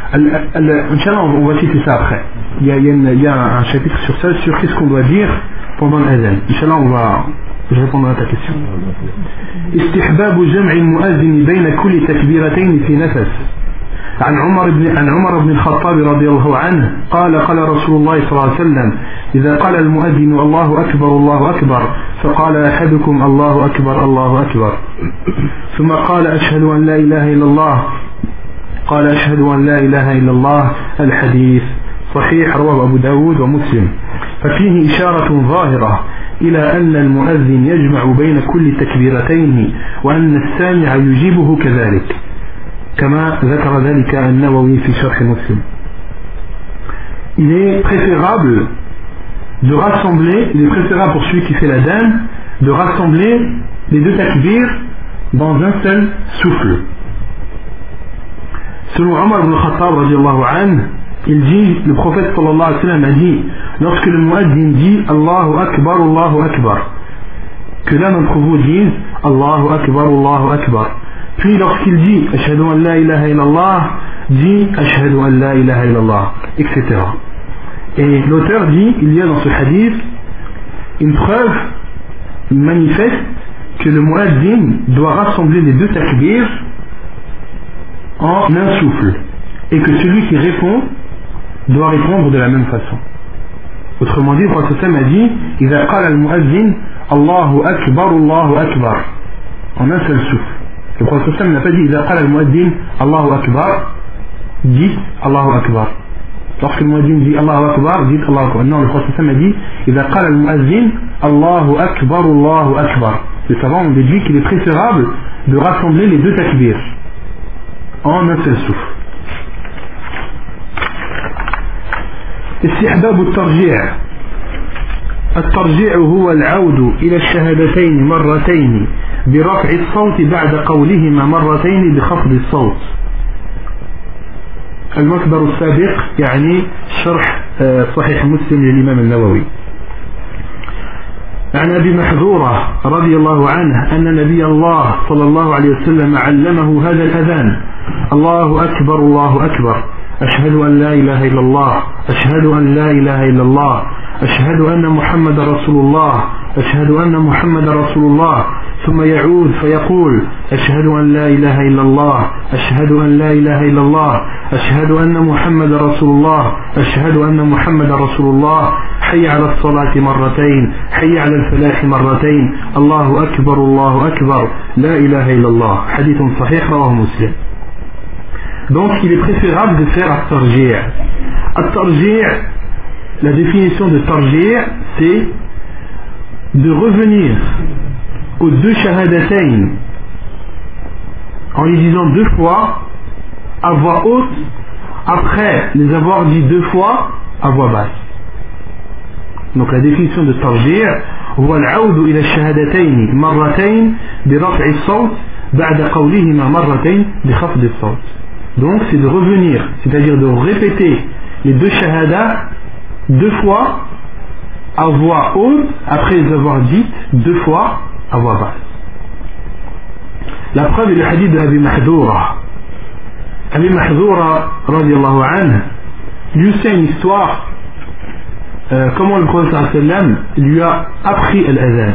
Speaker 1: Inch'Allah, on va citer ça après. Il y a, il y a, une, il y a un chapitre sur ça, sur qu'est-ce qu'on doit dire pendant l'adhan. Inch'Allah, on va. Je répondrai à ta question. استحباب جمع المؤذن بين كل تكبيرتين في نفس. عن عمر بن عن عمر بن الخطاب رضي الله عنه قال قال رسول الله صلى الله عليه وسلم إذا قال المؤذن الله أكبر الله أكبر فقال أحدكم الله أكبر الله أكبر ثم قال أشهد أن لا إله إلا الله قال أشهد أن لا إله إلا الله. الحديث صحيح رواه أبو داود ومسلم. ففيه إشارة ظاهرة إلى أن المؤذن يجمع بين كل تكبيرتين وأن السامع يجيبه كذلك كما ذكر ذلك النووي في شرح مسلم. Il est préférable de rassembler, il est préférable pour celui qui fait la l'adhan de rassembler les deux takbirs dans un seul souffle. Selon Omar ibn Khattab radiallahu anhu, il dit, le prophète sallallahu alayhi wa sallam a dit, lorsque le muazzin dit Allahu Akbar, Allahu Akbar, que l'un d'entre vous dise Allahu Akbar, Allahu Akbar. Puis lorsqu'il dit Ashhadu an la ilaha illallah, dit Ashhadu an la ilaha illallah, et cetera. Et l'auteur dit, il y a dans ce hadith une preuve manifeste que le muazzin doit rassembler les deux takbirs en un souffle, et que celui qui répond doit répondre de la même façon. Autrement dit, le prophète a dit إذا قال المؤذن الله أكبر الله أكبر en un seul souffle. Le prophète n'a pas dit إذا قال المؤذن الله أكبر dit Allahu Akbar. Lorsque le muazzin dit Allahu Akbar, dit Allahu Akbar. Non, le prophète a dit إذا قال المؤذن الله أكبر الله أكبر. Les savants ont déduit qu'il est préférable de rassembler les deux takbirs en un seul souffle. استحباب الترجيع. الترجيع هو العود إلى الشهادتين مرتين برفع الصوت بعد قولهما مرتين بخفض الصوت. المصدر السابق يعني شرح صحيح مسلم للإمام النووي. عن أبي محذورة رضي الله عنه أن نبي الله صلى الله عليه وسلم علمه هذا الأذان الله أكبر الله أكبر أشهد أن لا إله إلا الله أشهد أن لا إله إلا الله أشهد أن محمد رسول الله أشهد أن محمد رسول الله ثم يعود فيقول أشهد أن لا إله إلا الله أشهد أن لا إله إلا الله أشهد أن محمد رسول الله أشهد أن محمد رسول الله حي على الصلاة مرتين حي على الفلاح مرتين الله أكبر الله أكبر لا إله إلا الله. حديث صحيح رواه مسلم. Donc il est préférable de faire at-tarji'. At-tarji', la définition de tarji' c'est de revenir aux deux shahadatayn en les disant deux fois à voix haute après les avoir dit deux fois à voix basse. Donc la définition de tarji' هو العود إلى الشهادتين مرتين برفع الصوت بعد قولهما مرتين بخفض الصوت. Donc c'est de revenir, c'est-à-dire de répéter les deux shahadas deux fois à voix haute après les avoir dites deux fois à voix basse. La preuve est le hadith de Abi Mahdoura. Abi Mahdoura radiallahu anhu lui aussi une histoire euh, comment le prophète sallam lui a appris l'adhan.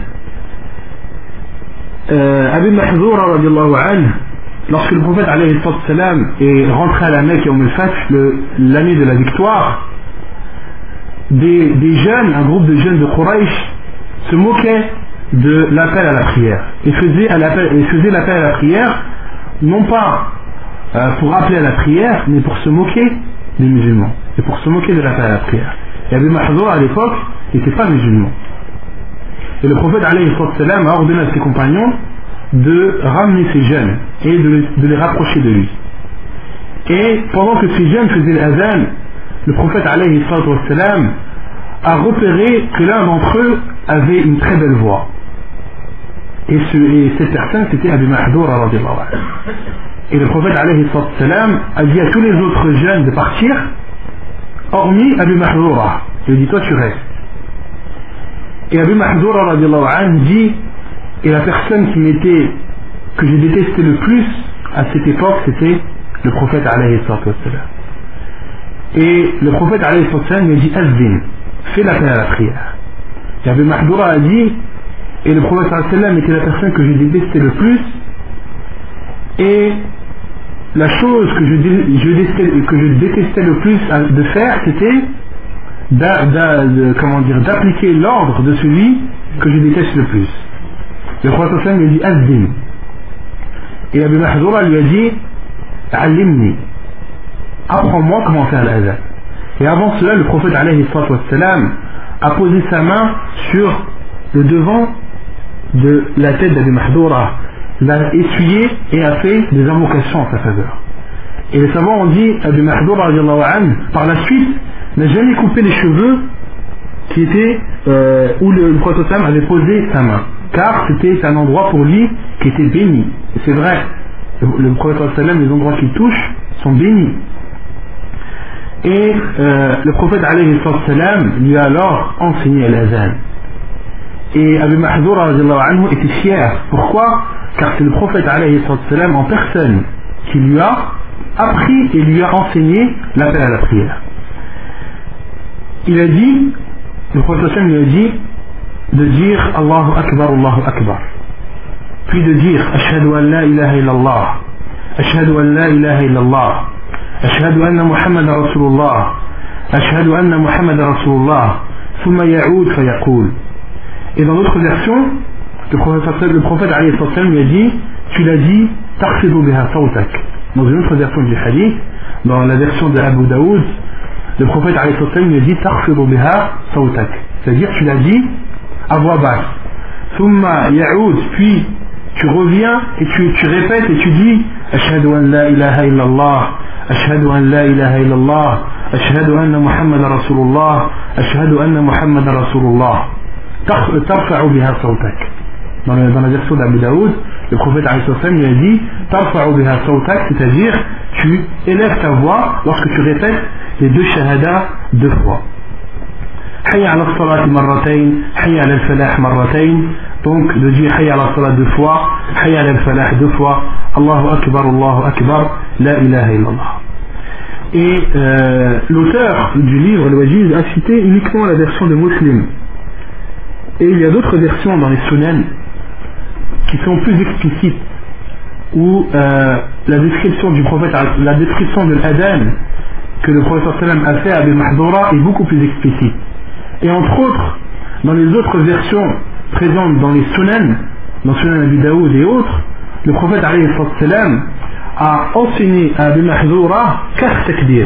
Speaker 1: euh, Abi Mahdoura radiallahu anhu, lorsque le prophète alayhi salam est rentré à la Mecque Yawm al-Fath, l'année de la victoire, des, des jeunes, un groupe de jeunes de Quraysh se moquaient de l'appel à la prière et faisaient l'appel à la prière non pas euh, pour appeler à la prière mais pour se moquer des musulmans et pour se moquer de l'appel à la prière. Et Abi Mahdoura à l'époque n'était pas musulman et le prophète alayhi salam a ordonné à ses compagnons de ramener ces jeunes et de, de les rapprocher de lui. Et pendant que ces jeunes faisaient l'adhan, le prophète alayhi salam a repéré que l'un d'entre eux avait une très belle voix. Et, ce, et cette personne c'était Abi Mahdoura radiallahu anhu. Et le prophète alayhi salam a dit à tous les autres jeunes de partir, hormis Abi Mahdoura. Il dit toi tu restes. Et Abi Mahdoura radiallahu anhu dit, et la personne qui m'était, que je détestais le plus à cette époque, c'était le prophète alayhi salam. Et le prophète alayhi salam lui a dit Azdin, fais l'appel à la prière. Et Abu Mahdoura a dit, et le prophète alayhi salam était la personne que je détestais le plus, et la chose que je, je, détestais, que je détestais le plus de faire, c'était d'a, d'a, de, comment dire, d'appliquer l'ordre de celui que je déteste le plus. Le prophète sallam lui a dit Azdin. Et Abu Mahdoura lui a dit Allimni, apprends-moi comment faire l'adhan. Et avant cela, le prophète alayhi salam a posé sa main sur le devant de la tête d'Abu Mahdoura, l'a essuyé et a fait des invocations en sa faveur. Et les savants ont dit Abu Mahdoura par la suite n'a jamais coupé les cheveux qui étaient euh, où le, le prophète avait posé sa main, car c'était un endroit pour lui qui était béni. Et c'est vrai, le, le prophète, les endroits qu'il touche sont bénis. Et euh, le prophète alayhi salam lui a alors enseigné l'azan. Et Abu Mahdoura était fier. Pourquoi? Car c'est le prophète alayhi salam en personne qui lui a appris et lui a enseigné l'appel à la prière. Il a dit, le prophète lui a dit de dire Allahu Akbar, Allahu Akbar, puis de dire Ashhadu an la ilaha illallah, Ashhadu an la ilaha illallah, Ashhadu anna Muhammad Rasulullah, Ashhadu anna Muhammad Rasulullah, thumma ya'ud fa yaqul. Et dans d'autres versions, le prophète, le prophète alayhi salam lui a dit, tu l'as dit tarfidu biha sawtak. Dans une autre version du hadith, dans la version de Abu Daoud, le prophète alayhi salam lui a dit tarfidu biha sawtak, c'est-à-dire tu l'as dit à voix basse. Thumma ya'ud, puis tu reviens et tu, tu répètes et tu dis Ashhadu an la ilaha illallah, Ashhadu an la ilaha illallah, Ashhadu anna Muhammad Rasulullah, Ashhadu anna Muhammad Rasulullah. Tarfa'u biha sawtak. Dans la, dans la version d'Abu Daoud, le prophète alayhi salam lui a dit Tarfa'u biha sawtak, c'est-à-dire tu élèves ta voix lorsque tu répètes les deux shahadas deux fois. Hayya ala salat marratayn, hayya ala al-falah marratayn. Donc de dire hayya ala salat deux fois, hayya ala al-falah deux fois, Allahu akbar, Allahu akbar, la ilaha illallah. Et euh, l'auteur du livre, le Wajiz, a cité uniquement la version de Muslim. Et il y a d'autres versions dans les Sunan qui sont plus explicites, où euh, la description du prophète, la description de l'adhan que le prophète sallam a fait à Abu Mahdoura est beaucoup plus explicite. Et entre autres, dans les autres versions présentes dans les Sunan, dans Sunan Abi Daoud et autres, le prophète alayhi sallam a enseigné à Abu Mahdoura quatre takbir.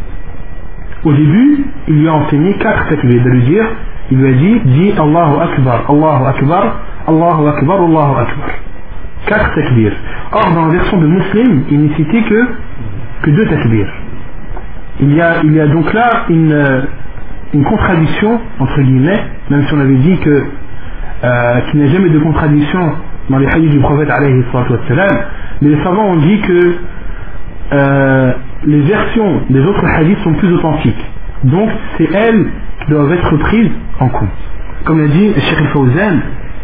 Speaker 1: Au début, il lui a enseigné quatre takbir, de lui dire, il lui a dit, dis Allahu Akbar, Allahu Akbar, Allahu Akbar, Allahu Akbar. Quatre takbir. Or, dans la version de Muslim, il n'est cité que, que deux takbir. Il y a, il y a donc là une, une contradiction, entre guillemets, même si on avait dit que, euh, qu'il n'y a jamais de contradiction dans les hadiths du prophète alayhi salam, mais les savants ont dit que euh, les versions des autres hadiths sont plus authentiques. Donc, c'est elles qui doivent être prises en compte. Comme l'a dit Cheikh Al-Fawzan,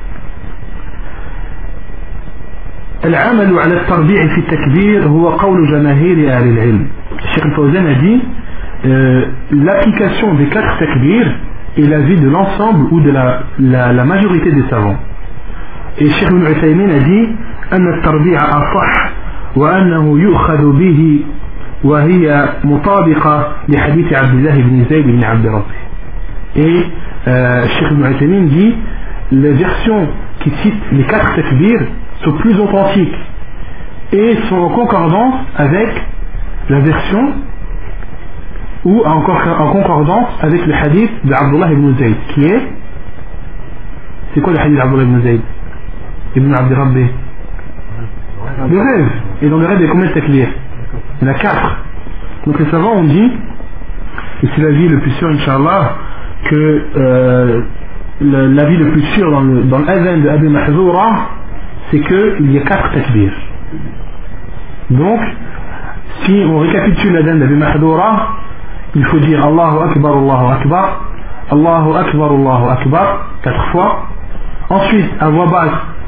Speaker 1: العمل على التربيع في التكبير هو قول جماهير أهل العلم. Cheikh Al-Fawzan a dit euh, l'application des quatre takbir est l'avis de l'ensemble ou de la, la, la majorité des savants. Et Cheikh Ibn Uthaymin a dit أن التربيع أصح وأنه يؤخذ به وهي مطابقة لحديث عبد الله بن زيد بن عبد ربه. Et euh, Cheikh Ibn Uthaymin dit les versions qui citent les quatre takbir sont plus authentiques et sont en concordance avec la version ou en concordance avec le hadith d'Abdullah ibn Zayd qui est, c'est quoi le hadith d'Abdullah ibn Zayd ibn Abd Rabbi? Le rêve. Et dans le rêve il y a combien de takbir? Il y en a quatre. Donc les savants ont dit, et c'est l'avis le plus sûr Inch'Allah, que euh, l'avis le plus sûr dans le, dans l'adhan de Abu Mahdoura, c'est qu'il y a quatre takbir. Donc, si on récapitule l'adhan d'Abu Mahdoura, il faut dire Allahu Akbar, Allahu Akbar, Allahu Akbar, Allahu Akbar, quatre fois. Ensuite, à voix basse,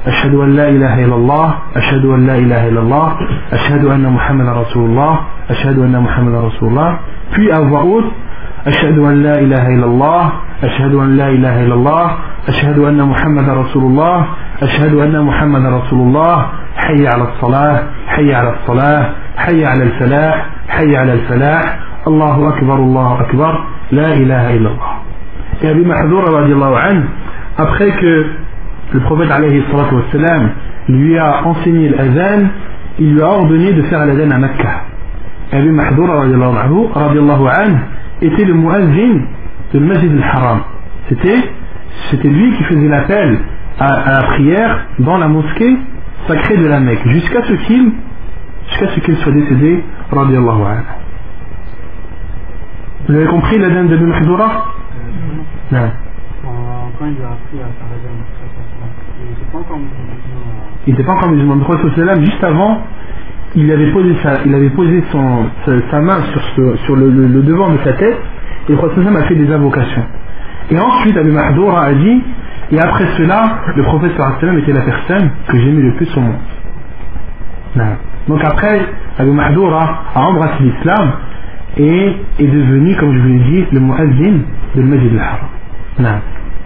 Speaker 1: أشهد أن لا إله إلا الله أشهد أن لا إله إلا الله أشهد أن محمد رسول الله أشهد أن محمد رسول الله. Puis à voix haute أشهد أن لا إله إلا الله أشهد أن لا إله إلا الله أشهد أن محمد رسول الله أشهد أن محمد رسول الله. حي على الصلاة حي على الصلاة حي على الفلاح حي على الفلاح. الله أكبر الله أكبر لا إله إلا الله. Et Abi Mahdoura radiallahu anhu, après que le prophète alayhi salatu wassalam lui a enseigné l'adhan, il lui a ordonné de faire l'adhan à Mecca. Abi Mahdoura radiallahu anhu était le muazzin de Masjid al-Haram. C'était, c'était lui qui faisait l'appel à, à la prière dans la mosquée sacrée de la Mecque, jusqu'à ce qu'il, jusqu'à ce qu'il soit décédé radiallahu anhu. Vous avez compris l'adhan d'Abi Mahdoura? Non.
Speaker 4: Quand il a appris à faire l'adhan, il n'était pas encore musulman.
Speaker 1: Il n'était pas encore musulman. Le prophète juste avant, il avait posé sa, il avait posé son, sa, sa main sur, ce, sur le, le, le devant de sa tête, et le prophète a fait des invocations. Et ensuite, Abi Mahdoura a dit, et après cela, le prophète était la personne que j'aimais le plus au monde. Non. Donc après, Abi Mahdoura a embrassé l'islam et est devenu, comme je vous l'ai dit, le muazzin de Masjid al-Haram. Non.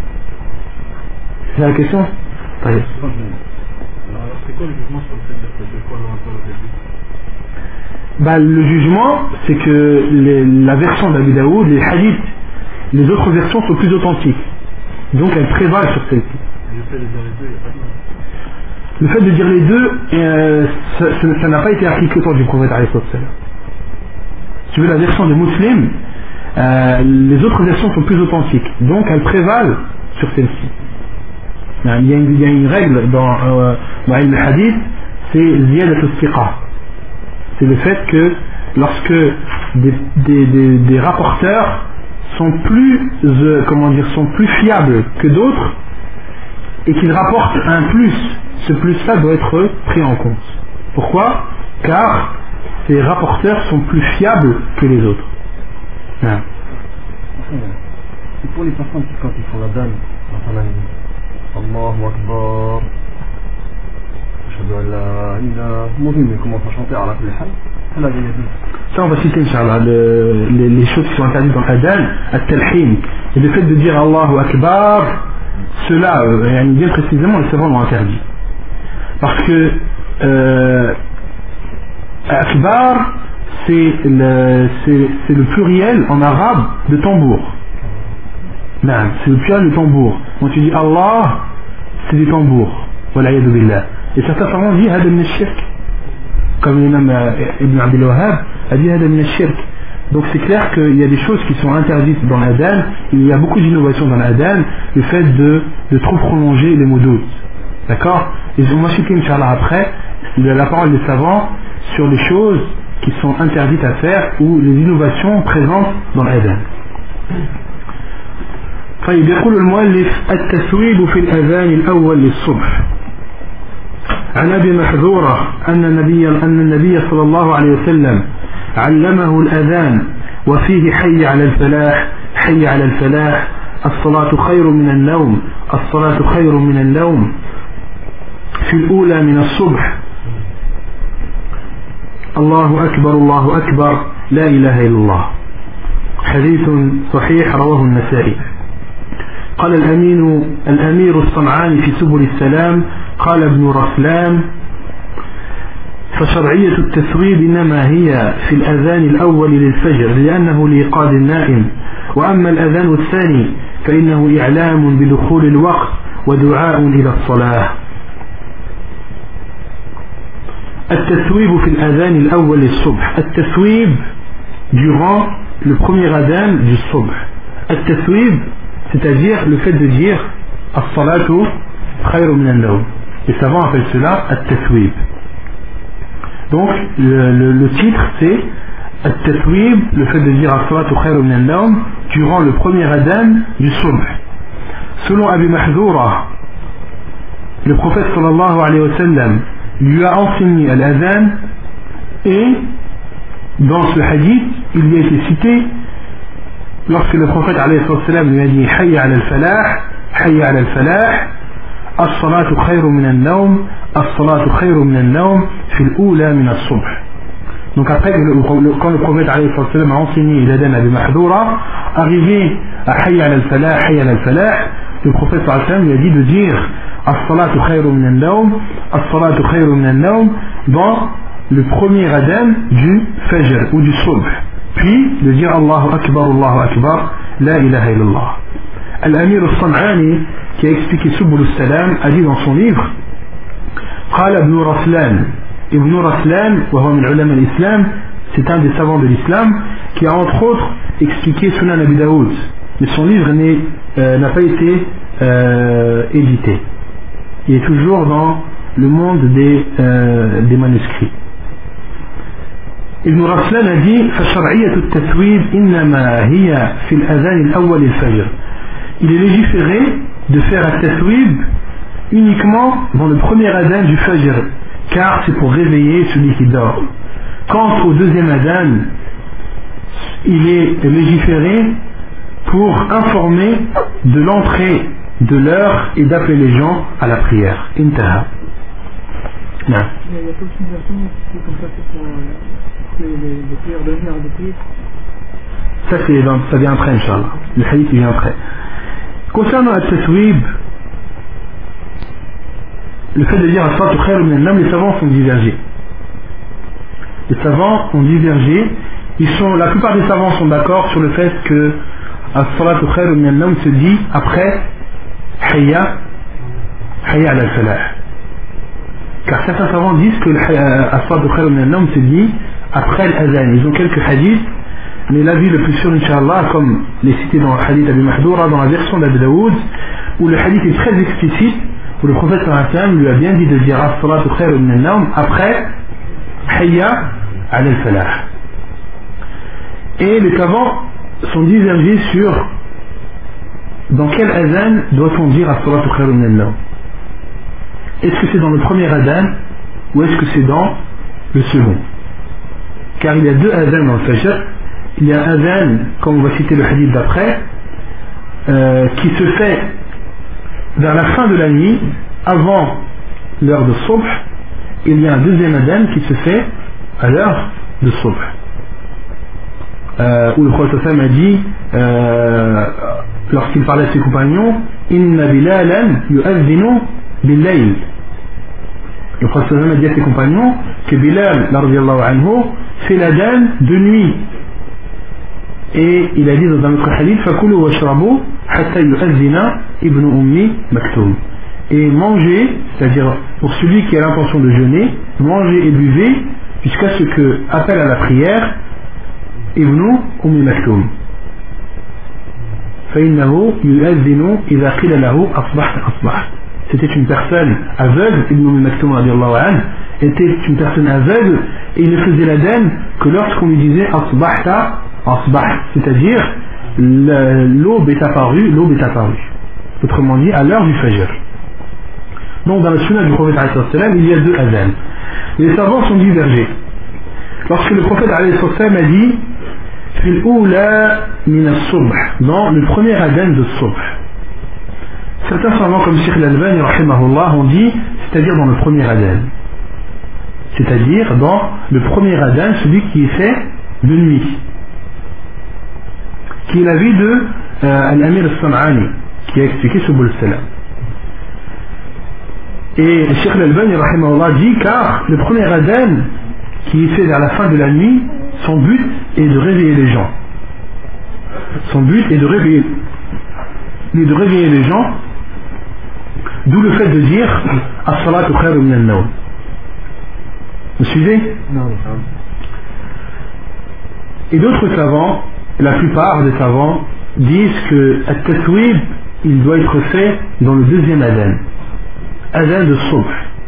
Speaker 1: C'est la question?
Speaker 4: Alors, c'est quoi le jugement sur le fait d'être deux fois lointain au début?
Speaker 1: Bah, le jugement, c'est que les, la version d'Abi Daoud, les hadiths, les autres versions sont plus authentiques. Donc elles prévalent sur celle-ci.
Speaker 4: Le fait de dire les deux, il n'y a pas de mal.
Speaker 1: Le fait de dire les deux, euh, ça, ça, ça n'a pas été appliqué au temps du prophète alayhi salam. Si tu veux la version de Muslim, euh, les autres versions sont plus authentiques. Donc elles prévalent sur celle-ci. Il y a une, il y a une règle dans, euh, dans le hadith, c'est ziyadat al-thiqa. C'est le fait que lorsque des, des, des, des rapporteurs sont plus, euh, comment dire, sont plus fiables que d'autres et qu'ils rapportent un plus, ce plus-là doit être pris en compte. Pourquoi? Car ces rapporteurs sont plus fiables que les autres. Ah.
Speaker 2: C'est pour les personnes qui, quand ils font la danse, Allahu Akbar, Ashhadu an la ilaha, Mourine, ils commencent à chanter à la kulli hal.
Speaker 1: Ça on va citer Inch'Allah le, les, les choses qui sont interdites dans l'adhan, at-talhin, et le fait de dire Allahu Akbar, cela euh, bien précisément les savants l'ont interdit parce que euh, Akbar c'est le, c'est, c'est le pluriel en arabe de tambour. Non, c'est le pluriel de tambour. Quand tu dis Allah, c'est des tambours. Wala'iyadu billah. Et certains savants disent hada min ash-shirk, comme l'imam Ibn Abdul Wahhab a dit hada min ash-shirk. Donc c'est clair qu'il y a des choses qui sont interdites dans l'adhan. Il y a beaucoup d'innovations dans l'adhan. Le fait de, de trop prolonger les mots doutes. D'accord? Et on va citer Inch'Allah après la parole des savants sur les choses qui sont interdites à faire ou les innovations présentes dans l'adhan. طيب يقول المؤلف التثويب في الأذان الأول للصبح. عن أبي محذورة أن النبي أن النبي صلى الله عليه وسلم علمه الأذان وفيه حي على الفلاح حي على الفلاح الصلاة خير من النوم الصلاة خير من النوم في الأولى من الصبح الله أكبر الله أكبر لا إله إلا الله. حديث صحيح رواه النسائي. قال الأمين الأمير الصنعاني في سبل السلام قال ابن رسلان فشرعية التثويب إنما هي في الأذان الأول للفجر لأنه لإيقاظ النائم وأما الأذان الثاني فإنه إعلام بدخول الوقت ودعاء إلى الصلاة. التثويب في الأذان الأول للصبح. التثويب durant le premier adhan du subh. التثويب c'est-à-dire le fait de dire as-salatu khayru min an-nawm. Les savants appellent cela at-tathwib. Donc le, le, le titre c'est at-tathwib, le fait de dire as-salatu khayru min an-nawm durant le premier adhan du subh. Selon Abi Mahdoura, le prophète sallallahu alayhi wa sallam lui a enseigné l'adhan et dans ce hadith il lui a été cité lorsque le prophète alayhi wa sallam lui a dit hayya ala al-falah hayya ala al-falah الصلاة خير من النوم الصلاة خير من النوم في الأولى من الصبح. Donc après, quand le prophète alayhi sallam a enseigné l'adhan à Mahdoura, arrivé à Hayya al-Falah, Hayya al-Falah, le prophète sallallahu alayhi wa sallam lui a dit de dire As-salatu khayru min al-nawm, As-salatu khayru min al-nawm dans le premier adhan du Fajr ou du Subh. Puis de dire Allahu Akbar, Allahu Akbar, La ilaha illallah. Al-Amir al-San'ani, qui a expliqué Subul al-Salam, a dit dans son livre قال ابن رسلان Ibn Raslan, c'est un des savants de l'islam, qui a entre autres expliqué Sunan Abi Daoud, mais son livre euh, n'a pas été euh, édité. Il est toujours dans le monde des, euh, des manuscrits. Ibn Raslan a dit فشرعية التثويب إنما هي في الأذان الأول الفجر. Il est légiféré de faire un tathwib uniquement dans le premier adhan du Fajr, car c'est pour réveiller celui qui dort. Quant au deuxième adhan, il est légiféré pour informer de l'entrée de l'heure et d'appeler les gens à la prière. Intaha. Non.
Speaker 3: Il y a toute une version qui est comme ça, c'est pour les, les, les prières de nuit à répéter.
Speaker 1: Ça, c'est dans, ça vient après, Inch'Allah. Le hadith vient après. Concernant le taswib, le fait de dire as-salatu khayru min an-nawm, les savants sont divergés. Les savants ont divergé. Ils sont, la plupart des savants sont d'accord sur le fait que as-salatu khayru min an-nawm se dit après hayya hayya ala al-falah. Car certains savants disent que as-salatu khayru min an-nawm se dit après l'adhan. Ils ont quelques hadiths, mais l'avis le plus sûr, Inch'Allah, comme les cités dans le hadith Abi Mahdoura, dans la version d'Abi Daoud, où le hadith est très explicite, où le prophète sallallahu alayhi wa sallam lui a bien dit de dire as-salatu khayru min an-nawm après hayya ala al-falah. Et les savants sont divergés sur dans quel adhan doit-on dire as-salatu khayru min an-nawm. Est-ce que c'est dans le premier adhan ou est-ce que c'est dans le second? Car il y a deux adhans dans le Fajr. Il y a un adhan, comme on va citer le hadith d'après, euh, qui se fait vers la fin de la nuit, avant l'heure de Subh. Il y a un deuxième adhan qui se fait à l'heure de Subh, euh, où le prophète sallam a dit, euh, lorsqu'il parlait à ses compagnons, Inna Bilalan yu'adhinu bil-layl. Le prophète sallam a dit à ses compagnons que Bilal radiyallahu anhu fait l'adhan de nuit. Et il a dit dans un autre hadith Fakulu wa shrabu hatta yu'adhina ibn ummi maktoum. Et mangez, c'est-à-dire pour celui qui a l'intention de jeûner, mangez et buvez jusqu'à ce que appelle à la prière ibn ummi maktoum. فإنه يؤذن إذا قيل له أصبحت أصبحت. C'était une personne aveugle, Ibn Ummi Maktoum radiallahu anhu était une personne aveugle et il ne faisait l'adhan que lorsqu'on lui disait Asbahta Asbah, c'est-à-dire l'aube est apparue, l'aube est apparue. Autrement dit, à l'heure du Fajr. Donc dans le sunnah du prophète alayhi salam, il y a deux adhans. Les savants sont divergés. Lorsque le prophète alayhi salam a dit Fil oula min as-subh, dans le premier adhan de Subh. Certains savants comme Sheikh al-Albani rahimahullah ont dit, c'est-à-dire dans le premier adhan. C'est-à-dire dans le premier adhan, celui qui est fait de nuit. Qui est l'avis de euh, Al-Amir al-San'ani, qui a expliqué Subul al-Salam. Et Sheikh al-Albani rahimahullah dit, car le premier adhan qui est fait vers la fin de la nuit, son but est de réveiller les gens. Son but est de réveiller, est de réveiller les gens, d'où le fait de dire As-salatu khayru min an-nawm. Vous suivez?
Speaker 2: Non.
Speaker 1: Et d'autres savants, la plupart des savants, disent que at-taswib, il doit être fait dans le deuxième adhan, adhan de Subh.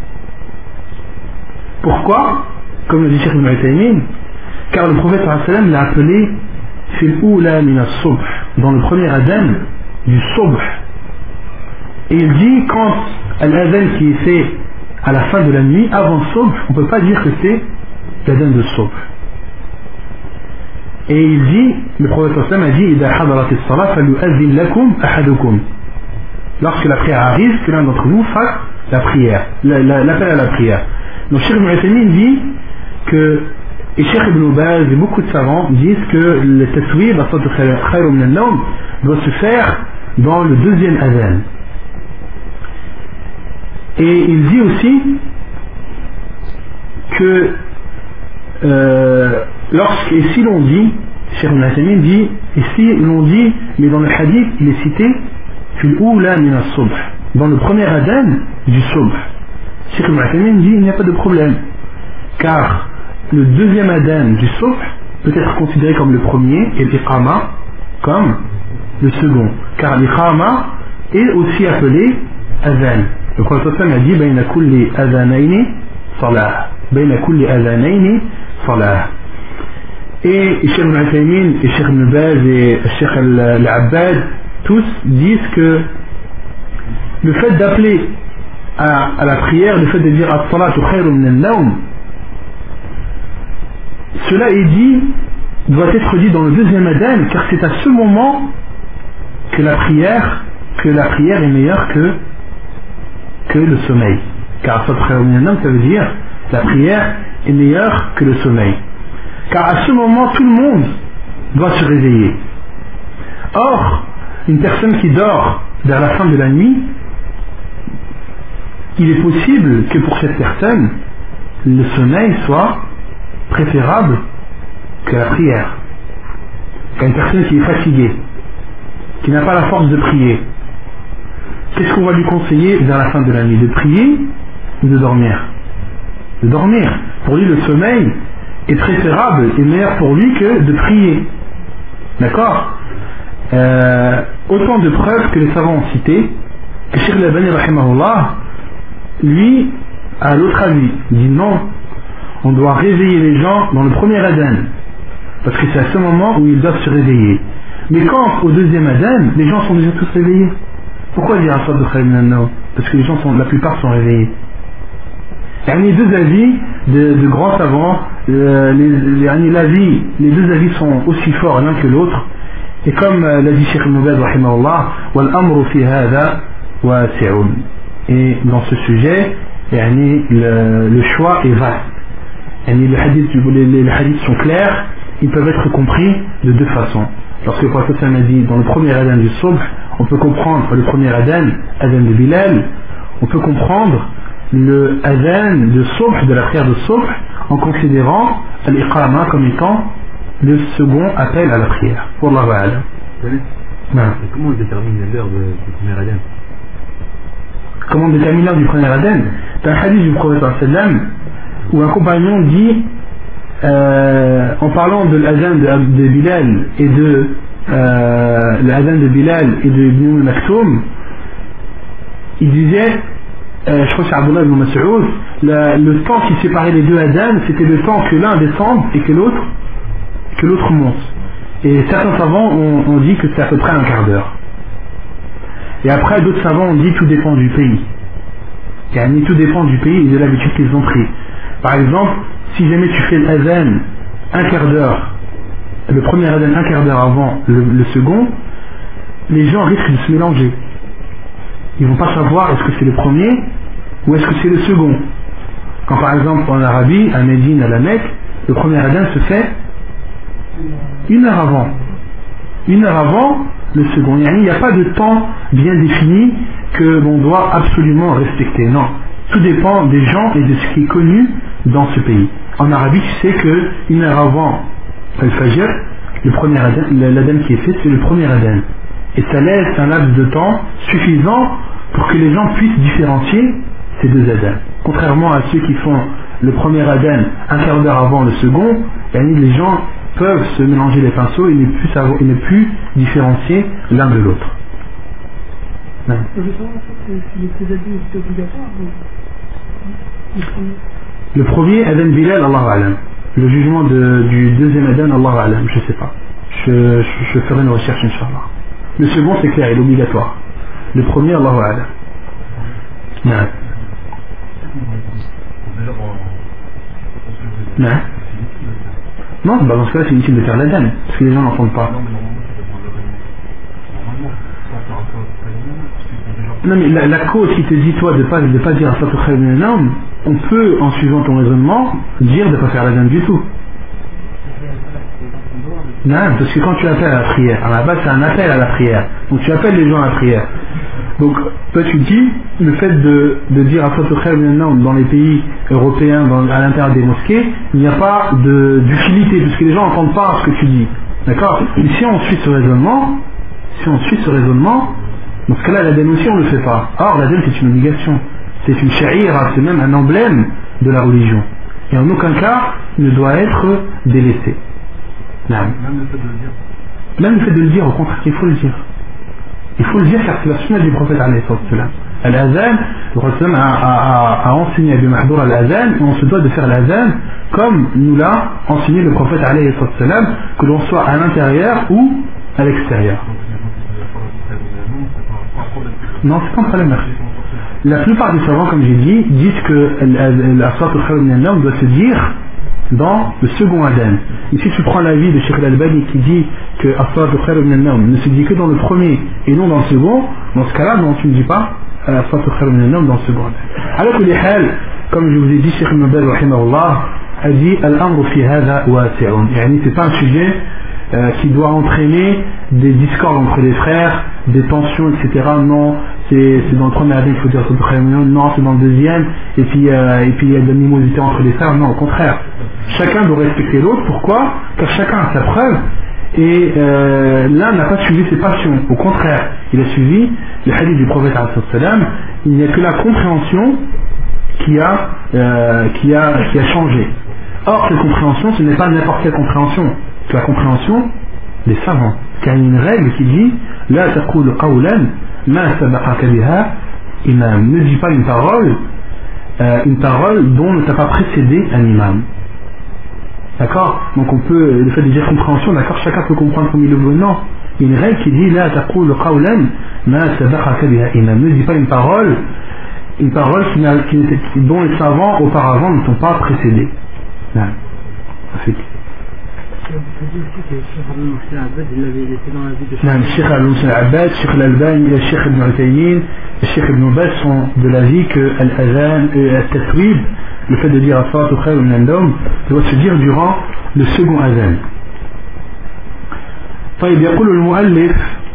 Speaker 1: Pourquoi? Comme le dit Cheikh Ibn Uthaymin, car le prophète sallallahu alayhi wa sallam l'a appelé fil oula min as-subh, dans le premier adhan du Subh. Et il dit, quand l'adhan qui est fait à la fin de la nuit, avant Subh, on ne peut pas dire que c'est l'adhan de Subh. Et il dit, le prophète sallallahu alayhi wa sallam a dit, إذا حضرت الصلاة فليؤذن لكم أحدكم. lorsque la prière arrive, que l'un d'entre vous fasse la prière, la, la, l'appel à la prière. Donc Cheikh Ibn Uthaymin dit que, et Cheikh Ibn Baz et beaucoup de savants disent que le taswib, doit se faire dans le deuxième adhan. Et il dit aussi que euh, lorsque, et si l'on dit, Cheikh Ibn Uthaymin dit, et si l'on dit, mais dans le hadith il est cité fil oula min as-subh, dans le premier adhan du subh, Cheikh Ibn Uthaymin dit il n'y a pas de problème, car le deuxième adhan du subh peut être considéré comme le premier et l'iqama comme le second, car l'iqama est aussi appelé adhan. Le Prophète a dit bayna kulli adhanayni salah, bayna kulli adhanayni salah. Et Cheikh Ibn Uthaymin et Cheikh Ibn Baz et Cheikh Al-Abbad tous disent que le fait d'appeler à, à la prière, le fait de dire as-salatu khayrun min an-nawm, cela est dit, doit être dit dans le deuxième adhan, car c'est à ce moment que la prière, que la prière est meilleure que, que le sommeil. Car as-salatu khayrun min an-nawm, ça veut dire la prière est meilleure que le sommeil. Car à ce moment, tout le monde doit se réveiller. Or, une personne qui dort vers la fin de la nuit, il est possible que pour cette personne, le sommeil soit préférable que la prière. Car une personne qui est fatiguée, qui n'a pas la force de prier, qu'est-ce qu'on va lui conseiller vers la fin de la nuit? De prier ou de dormir? De dormir. Pour lui, le sommeil est préférable et meilleur pour lui que de prier. D'accord? euh, Autant de preuves que les savants ont citées, que Cheikh Al-Albani rahimahullah, lui, a l'autre avis. Il dit non, on doit réveiller les gens dans le premier adhan, parce que c'est à ce moment où ils doivent se réveiller. Mais quand au deuxième adhan, les gens sont déjà tous réveillés. Pourquoi dire as-salatu khayrun min an-nawm? Parce que les gens sont, la plupart sont réveillés. Il y a les deux avis de, de grands savants, euh, les, les, l'avis, les deux avis sont aussi forts l'un que l'autre. Et comme euh, l'a dit Cheikh Ibn Baz rahimahullah, wal amru fi hadha wasi'un. Et dans ce sujet, yani, le, le choix est vaste. Yani, les, hadiths, les, les hadiths sont clairs, ils peuvent être compris de deux façons. Lorsque le prophète a dit dans le premier adhan du subh, on peut comprendre le premier adhan, adhan de Bilal, on peut comprendre le adhan de subh, de la prière de subh, en considérant l'iqama comme étant le second appel à la prière. Wallahu a'lam.
Speaker 2: Comment on détermine l'heure du premier adhan?
Speaker 1: Comment on détermine l'heure du premier adhan? C'est un hadith du prophète sallam où un compagnon dit, euh, en parlant de l'adhan de, de Bilal et de euh, l'adhan de Bilal et de Ibn Maktoum, il disait, euh, je crois que c'est Abdullah ibn Mas'ud, le temps qui séparait les deux adhan, c'était le temps que l'un descende et que l'autre que l'autre monte. Et certains savants ont, ont dit que c'est à peu près un quart d'heure. Et après, d'autres savants ont dit tout dépend du pays. Et tout dépend du pays et de l'habitude qu'ils ont pris. Par exemple, si jamais tu fais l'adhan un quart d'heure, le premier adhan un quart d'heure avant le, le second, les gens risquent de se mélanger. Ils vont pas savoir est-ce que c'est le premier ou est-ce que c'est le second. Quand par exemple en Arabie, à Médine, à la Mecque, le premier adhan se fait une heure avant. Une heure avant le second. Il n'y a pas de temps bien défini que l'on doit absolument respecter. Non. Tout dépend des gens et de ce qui est connu dans ce pays. En Arabie, tu sais que une heure avant Al-Fajr, le premier adhan, l'adhan qui est fait, c'est le premier adhan. Et ça laisse un laps de temps suffisant pour que les gens puissent différencier ces deux adhans. Contrairement à ceux qui font le premier adhan un quart d'heure avant le second, les gens peuvent se mélanger les pinceaux et ne plus, savoir, et ne plus différencier l'un de l'autre.
Speaker 3: Je veux savoir si les adhans étaient obligatoires.
Speaker 1: Le premier adhan Bilal, Allah Alam. Le jugement de, du deuxième adhan, Allah Alam, je ne sais pas. Je, je, je ferai une recherche, Inch'Allah. Le second, c'est clair, il est obligatoire. Le premier, Allah Alam. Non. Non. Non, bah dans ce cas-là, c'est inutile de faire l'adhan, parce que les gens n'entendent pas. Non mais la, la cause qui te dit toi de pas de pas dire As-salatu khayrun minan nawm, on peut en suivant ton raisonnement dire de ne pas faire l'adhan du tout. Non, parce que quand tu appelles à la prière, à la base c'est un appel à la prière, donc tu appelles les gens à la prière. Donc toi tu dis le fait de, de dire As-salatu khayrun minan nawm dans les pays européens, dans, à l'intérieur des mosquées, il n'y a pas de, d'utilité parce que les gens n'entendent pas ce que tu dis. D'accord? Mais si on suit ce raisonnement, si on suit ce raisonnement, dans ce cas-là, l'adhan aussi on ne le fait pas. Or, l'adhan c'est une obligation. C'est une sha'ira, c'est même un emblème de la religion. Et en aucun cas, il ne doit être délaissé. Non.
Speaker 2: Même le fait de le dire.
Speaker 1: Même le fait de le dire, au contraire, il faut le dire. Il faut le dire car c'est la sunna du prophète alayhi salam. Al-Azan, le prophète a, a, a enseigné à Abi Mahdour al-Azan, et on se doit de faire l'Azan comme nous l'a enseigné le prophète alayhi salam, que l'on soit à l'intérieur ou à l'extérieur. Non, c'est pas un problème. La plupart des savants, comme j'ai dit, disent que As-salatu khayrun minan nawm doit se dire dans le second adhan. Ici, tu prends l'avis de Cheikh Al-Albani qui dit que As-salatu khayrun minan nawm ne se dit que dans le premier et non dans le second. Dans ce cas-là, non, tu ne dis pas As-salatu khayrun minan nawm dans le second adhan. Alors que les hal, comme je vous ai dit, Cheikh Ibn Baz rahimahullah a dit Al-amru fi hadha wasi'un. Yani, c'est pas un sujet Euh, qui doit entraîner des discordes entre les frères, des tensions, et cetera. Non, c'est, c'est dans le premier hadith qu'il faut dire non, c'est dans le deuxième, et puis euh, et puis il y a de l'animosité entre les frères. Non, au contraire. Chacun doit respecter l'autre. Pourquoi? Car chacun a sa preuve, et euh, l'un n'a pas suivi ses passions. Au contraire, il a suivi le hadith du prophète sallam. Il n'y a que la compréhension qui a, euh, qui a, qui a changé. Or, cette compréhension, ce n'est pas n'importe quelle compréhension. C'est la compréhension des savants. Car il y a une règle qui dit La taqulu qawlan ma sabaqaka biha imam. Ne dis pas une parole, euh, une parole dont ne t'a pas précédé un imam. D'accord? Donc on peut, le fait de dire compréhension, d'accord, chacun peut comprendre comme il le veut. Non. Il y a une règle qui dit La taqulu qawlan ma sabaqaka biha imam. Ne dis pas une parole, une parole qui n'a, qui, dont les savants auparavant ne sont pas précédés. Non. C'est نعم الشيخ العباد الشيخ الألباني الشيخ ابن عثيمين الشيخ ابن باز sont de l'avis que l'adhan et al-taswib, le fait de dire as-salatu khayrun minan nawm, doit se dire durant le second adhan. طيب يقول المؤلف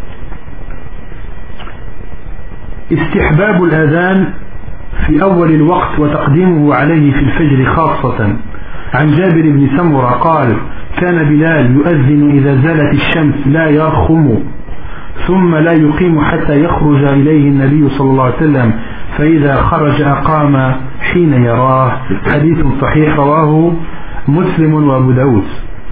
Speaker 1: استحباب الأذان في أول الوقت وتقديمه عليه في الفجر خاصة. عن جابر بن سمرة قال كان بلال يؤذن إذا زالت الشمس لا يرخم ثم لا يقيم حتى يخرج إليه النبي صلى الله عليه وسلم فإذا خرج أقام حين يراه. حديث صحيح رواه مسلم وأبو داود.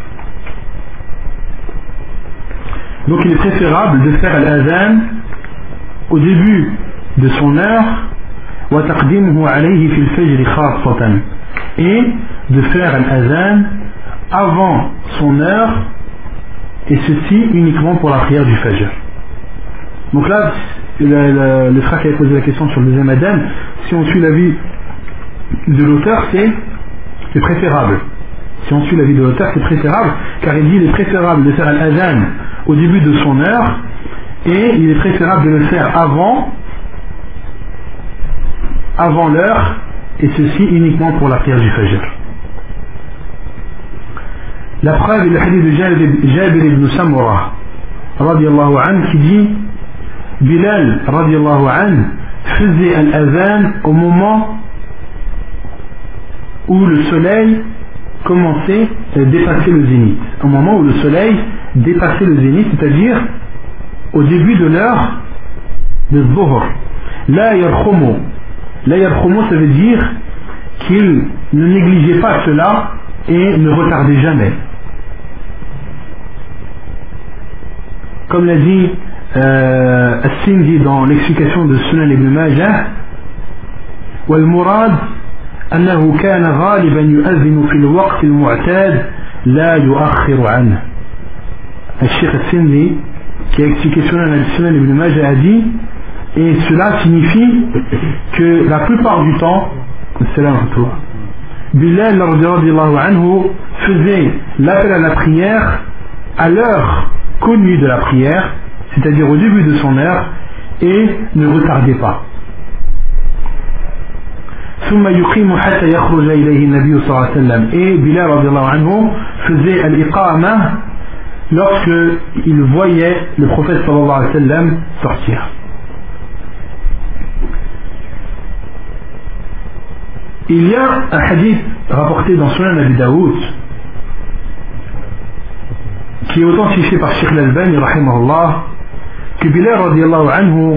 Speaker 1: Donc il est préférable de faire l'adhan au début de son heure وتقديمه عليه في الفجر خاصة, et de faire l'adhan avant son heure, et ceci uniquement pour la prière du Fajr. Donc là, le, le, le frère qui avait posé la question sur le deuxième adhan, si on suit l'avis de l'auteur, c'est, c'est préférable. Si on suit l'avis de l'auteur, c'est préférable, car il dit qu'il est préférable de faire l'adhan au début de son heure, et il est préférable de le faire avant, avant l'heure, et ceci uniquement pour la prière du Fajr. La preuve est le hadith de Jabir ibn Samura radiallahu anhu qui dit Bilal radiallahu anhu faisait un adhan au moment où le soleil commençait à dépasser le zénith. Au moment où le soleil dépassait le zénith, c'est-à-dire au début de l'heure de Dhuhr. La yarkhumu. La yarkhumu, ça veut dire qu'il ne négligeait pas cela et ne retardait jamais. Comme l'a dit euh, As-Sindi dans l'explication de Sunan ibn Majah, والمراد أنه كان غالبا يؤذن في الوقت المعتاد لا يؤخر عنه. الشيخ As-Sindi qui a expliqué Sunan ibn Majah a dit, et cela signifie que la plupart du temps, Bilal radiallahu anhu faisait l'appel à la prière à l'heure connue de la prière, c'est-à-dire au début de son heure, et ne retardez pas. ثم يقيم حتى يخرج إليه النبي صلى الله عليه وسلم. Et Bilal radiallahu anhu faisait al-iqama lorsque il voyait le prophète sallallahu alayhi wa sallam sortir. Il y a un hadith rapporté dans Sunan Abi Daoud qui est authentifié par Sheikh Al-Albani rahimahullah, que Bilal radiallahu anhu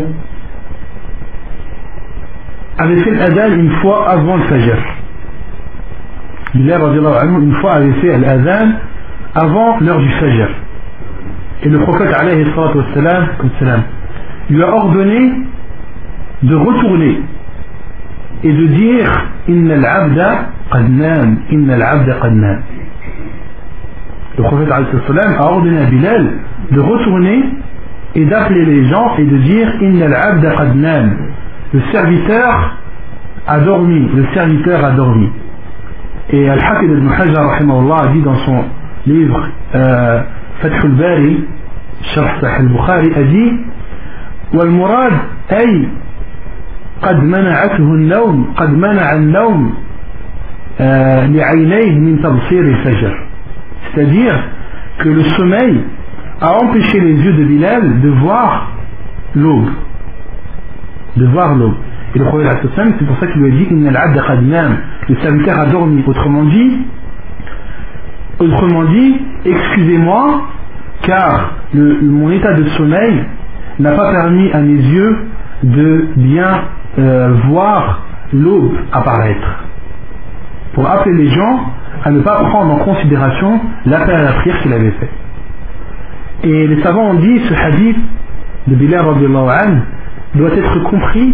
Speaker 1: avait fait l'adhan une fois avant le fajr. Bilal radiallahu anhu une fois avait fait l'adhan avant l'heure du fajr. Et le prophète alayhi salatu wassalam lui a ordonné de retourner et de dire Inna al-abda qad nam, Inna al-abda qad nam. Le prophète alayhi salatu wassalam a ordonné à Bilal de retourner et d'appeler les gens et de dire Inna al-abda qad nam. Le serviteur a dormi, le serviteur a dormi. Et Al-Hafid ibn Hajar rahimahullah a dit dans son livre euh, Fath al-Bari, Sharh Sahih al-Bukhari, a dit والمراد أي قد منعته النوم قد منع النوم لعينيه من تبصير الفجر. C'est-à-dire que le sommeil a empêché les yeux de Bilal de voir l'aube. de voir l'aube. Et le prophète c'est pour ça qu'il lui a dit Inna al-abda qad nam, le serviteur a dormi. Autrement dit, autrement dit, excusez-moi, car le, mon état de sommeil n'a pas permis à mes yeux de bien euh, voir l'aube apparaître. Pour appeler les gens à ne pas prendre en considération l'appel à la prière qu'il avait fait. Et les savants ont dit ce hadith de Bilal radhiyallahu anhu doit être compris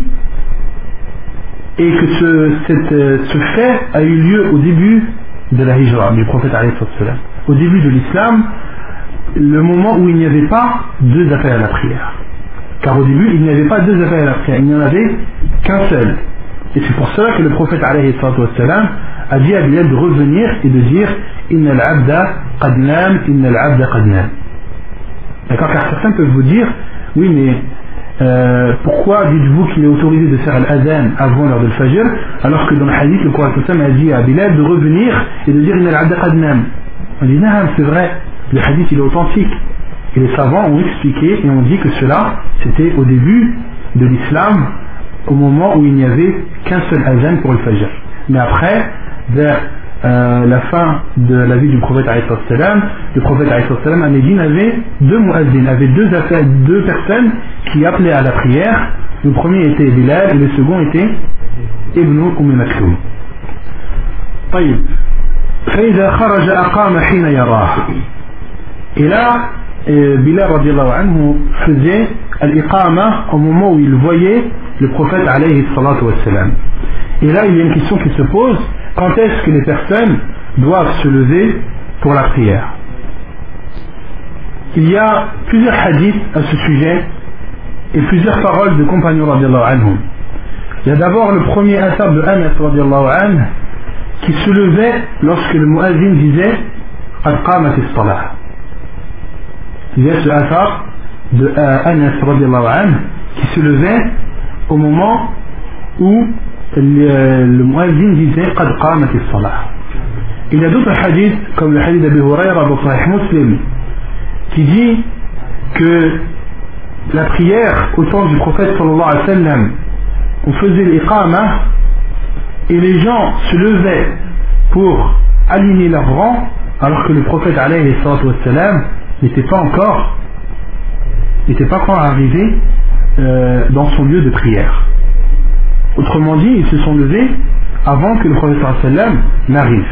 Speaker 1: et que ce, cette, ce fait a eu lieu au début de la hijra du prophète alayhi salam. Au début de l'islam, le moment où il n'y avait pas deux appels à la prière. Car au début, il n'y avait pas deux appels à la prière, il n'y en avait qu'un seul. Et c'est pour cela que le prophète alayhi salam a dit à Bilal de revenir et de dire Inna al-abda qad nam, Inna al-abda qad nam. D'accord, car certains peuvent vous dire oui mais Euh, pourquoi dites-vous qu'il est autorisé de faire l'adhan avant l'heure de Fajr alors que dans le hadith le Coran a dit à Bilal de revenir et de dire Inna al-abda qad nam. On dit non, c'est vrai, le hadith il est authentique et les savants ont expliqué et ont dit que cela c'était au début de l'islam, au moment où il n'y avait qu'un seul adhan pour le Fajr. Mais après, vers Euh, la fin de la vie du prophète alayhi salam, le prophète alayhi salam à Médine avait deux muazzin, avait deux, deux personnes qui appelaient à la prière. Le premier était Bilal et le second était Ibn Umm Maktoum. طيب فإذا خرج أقام حين يراه. Et là, Bilal radiallahu anhu faisait al-iqama au moment où il voyait le prophète alayhi salatu wassalam. Et là, il y a une question qui se pose. Quand est-ce que les personnes doivent se lever pour la prière? Il y a plusieurs hadiths à ce sujet et plusieurs paroles de compagnons radiallahu anhum. Il y a d'abord le premier athar de Anas radiallahu anhu qui se levait lorsque le muazzin disait Qad qamat as-salah. Il y a ce athar de Anas radiallahu anhu qui se levait au moment où le, le muazzin disait Qad qamat as-salah. Il y a d'autres hadiths comme le hadith d'Abi Hurayra dans Sahih Muslim qui dit que la prière au temps du prophète sallallahu alayhi wa sallam, on faisait l'iqama et les gens se levaient pour aligner leurs rangs alors que le prophète alayhi wa sallam n'était pas encore n'était pas encore arrivé euh, dans son lieu de prière. Autrement dit, ils se sont levés avant que le prophète sallallahu alayhi wa sallam n'arrive.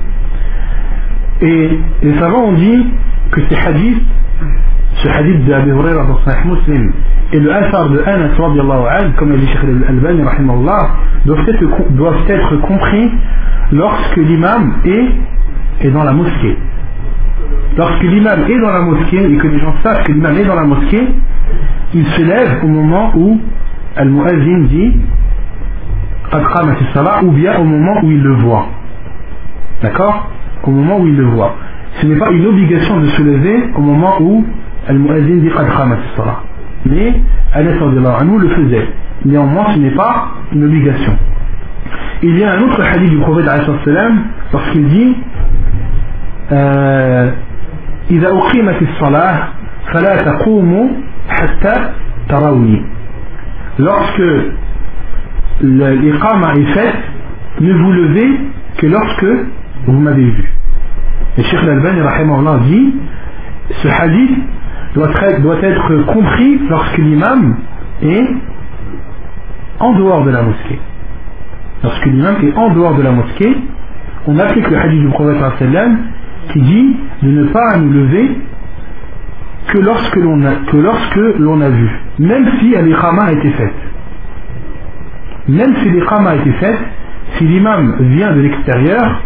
Speaker 1: Et les savants ont dit que ces hadiths, ce hadith d'Abi Hurayra dans Sahih Muslim et le athar de Anas radiallahu anhu, comme a dit Cheikh Al-Albani rahimahullah, doivent être, doivent être compris lorsque l'imam est, est dans la mosquée. Lorsque l'imam est dans la mosquée et que les gens savent que l'imam est dans la mosquée, il se lève au moment où Al-Muazzin dit Qad qamat as-salah, ou bien au moment où il le voit. D'accord? Au moment où il le voit. Ce n'est pas une obligation de se lever au moment où Al-Muazzin dit Qad qamat as-salah. mais Anas radhiyallahu anhu le faisait. Néanmoins, ce n'est pas une obligation. Il y a un autre hadith du prophète alayhi salam lorsqu'il dit إذا أقيمت الصلاة فلا تقوموا حتى تروني. Lorsque l'iqama est faite, ne vous levez que lorsque vous m'avez vu. Et Cheikh Al-Albani rahimahullah dit ce hadith doit être, doit être compris lorsque l'imam est en dehors de la mosquée. Lorsque l'imam est en dehors de la mosquée, on applique le hadith du prophète sallam qui dit de ne pas nous lever que lorsque l'on a, que lorsque l'on a vu, même si l'iqama a été faite. Même si l'iqama a été faite, si l'imam vient de l'extérieur,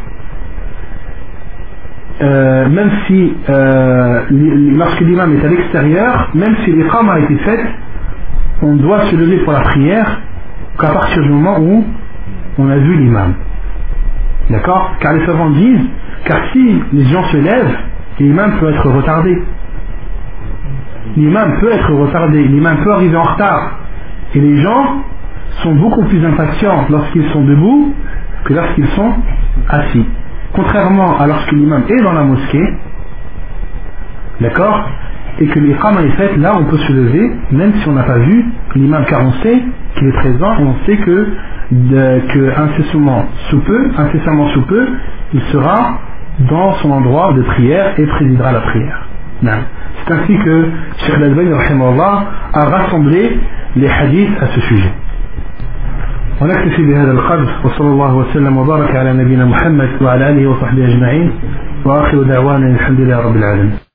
Speaker 1: euh, même si euh, lorsque l'imam est à l'extérieur, même si l'iqama a été faite, on doit se lever pour la prière qu'à partir du moment où on a vu l'imam. D'accord? Car les savants disent, car si les gens se lèvent, l'imam peut être retardé. L'imam peut être retardé, l'imam peut arriver en retard. Et les gens sont beaucoup plus impatients lorsqu'ils sont debout que lorsqu'ils sont assis. Contrairement à lorsque l'imam est dans la mosquée, d'accord, et que l'iqama est faite, là on peut se lever, même si on n'a pas vu l'imam, car on sait qu'il est présent et on sait que, de, que incessamment sous peu, incessamment sous peu, il sera dans son endroit de prière et présidera la prière. Non. C'est ainsi que Cheikh Al-Albani rahimahullah a rassemblé les hadiths à ce sujet. ونكتفي بهذا القدر وصلى الله وسلم وبارك على نبينا محمد وعلى آله وصحبه أجمعين وآخر دعوانا الحمد لله رب العالمين.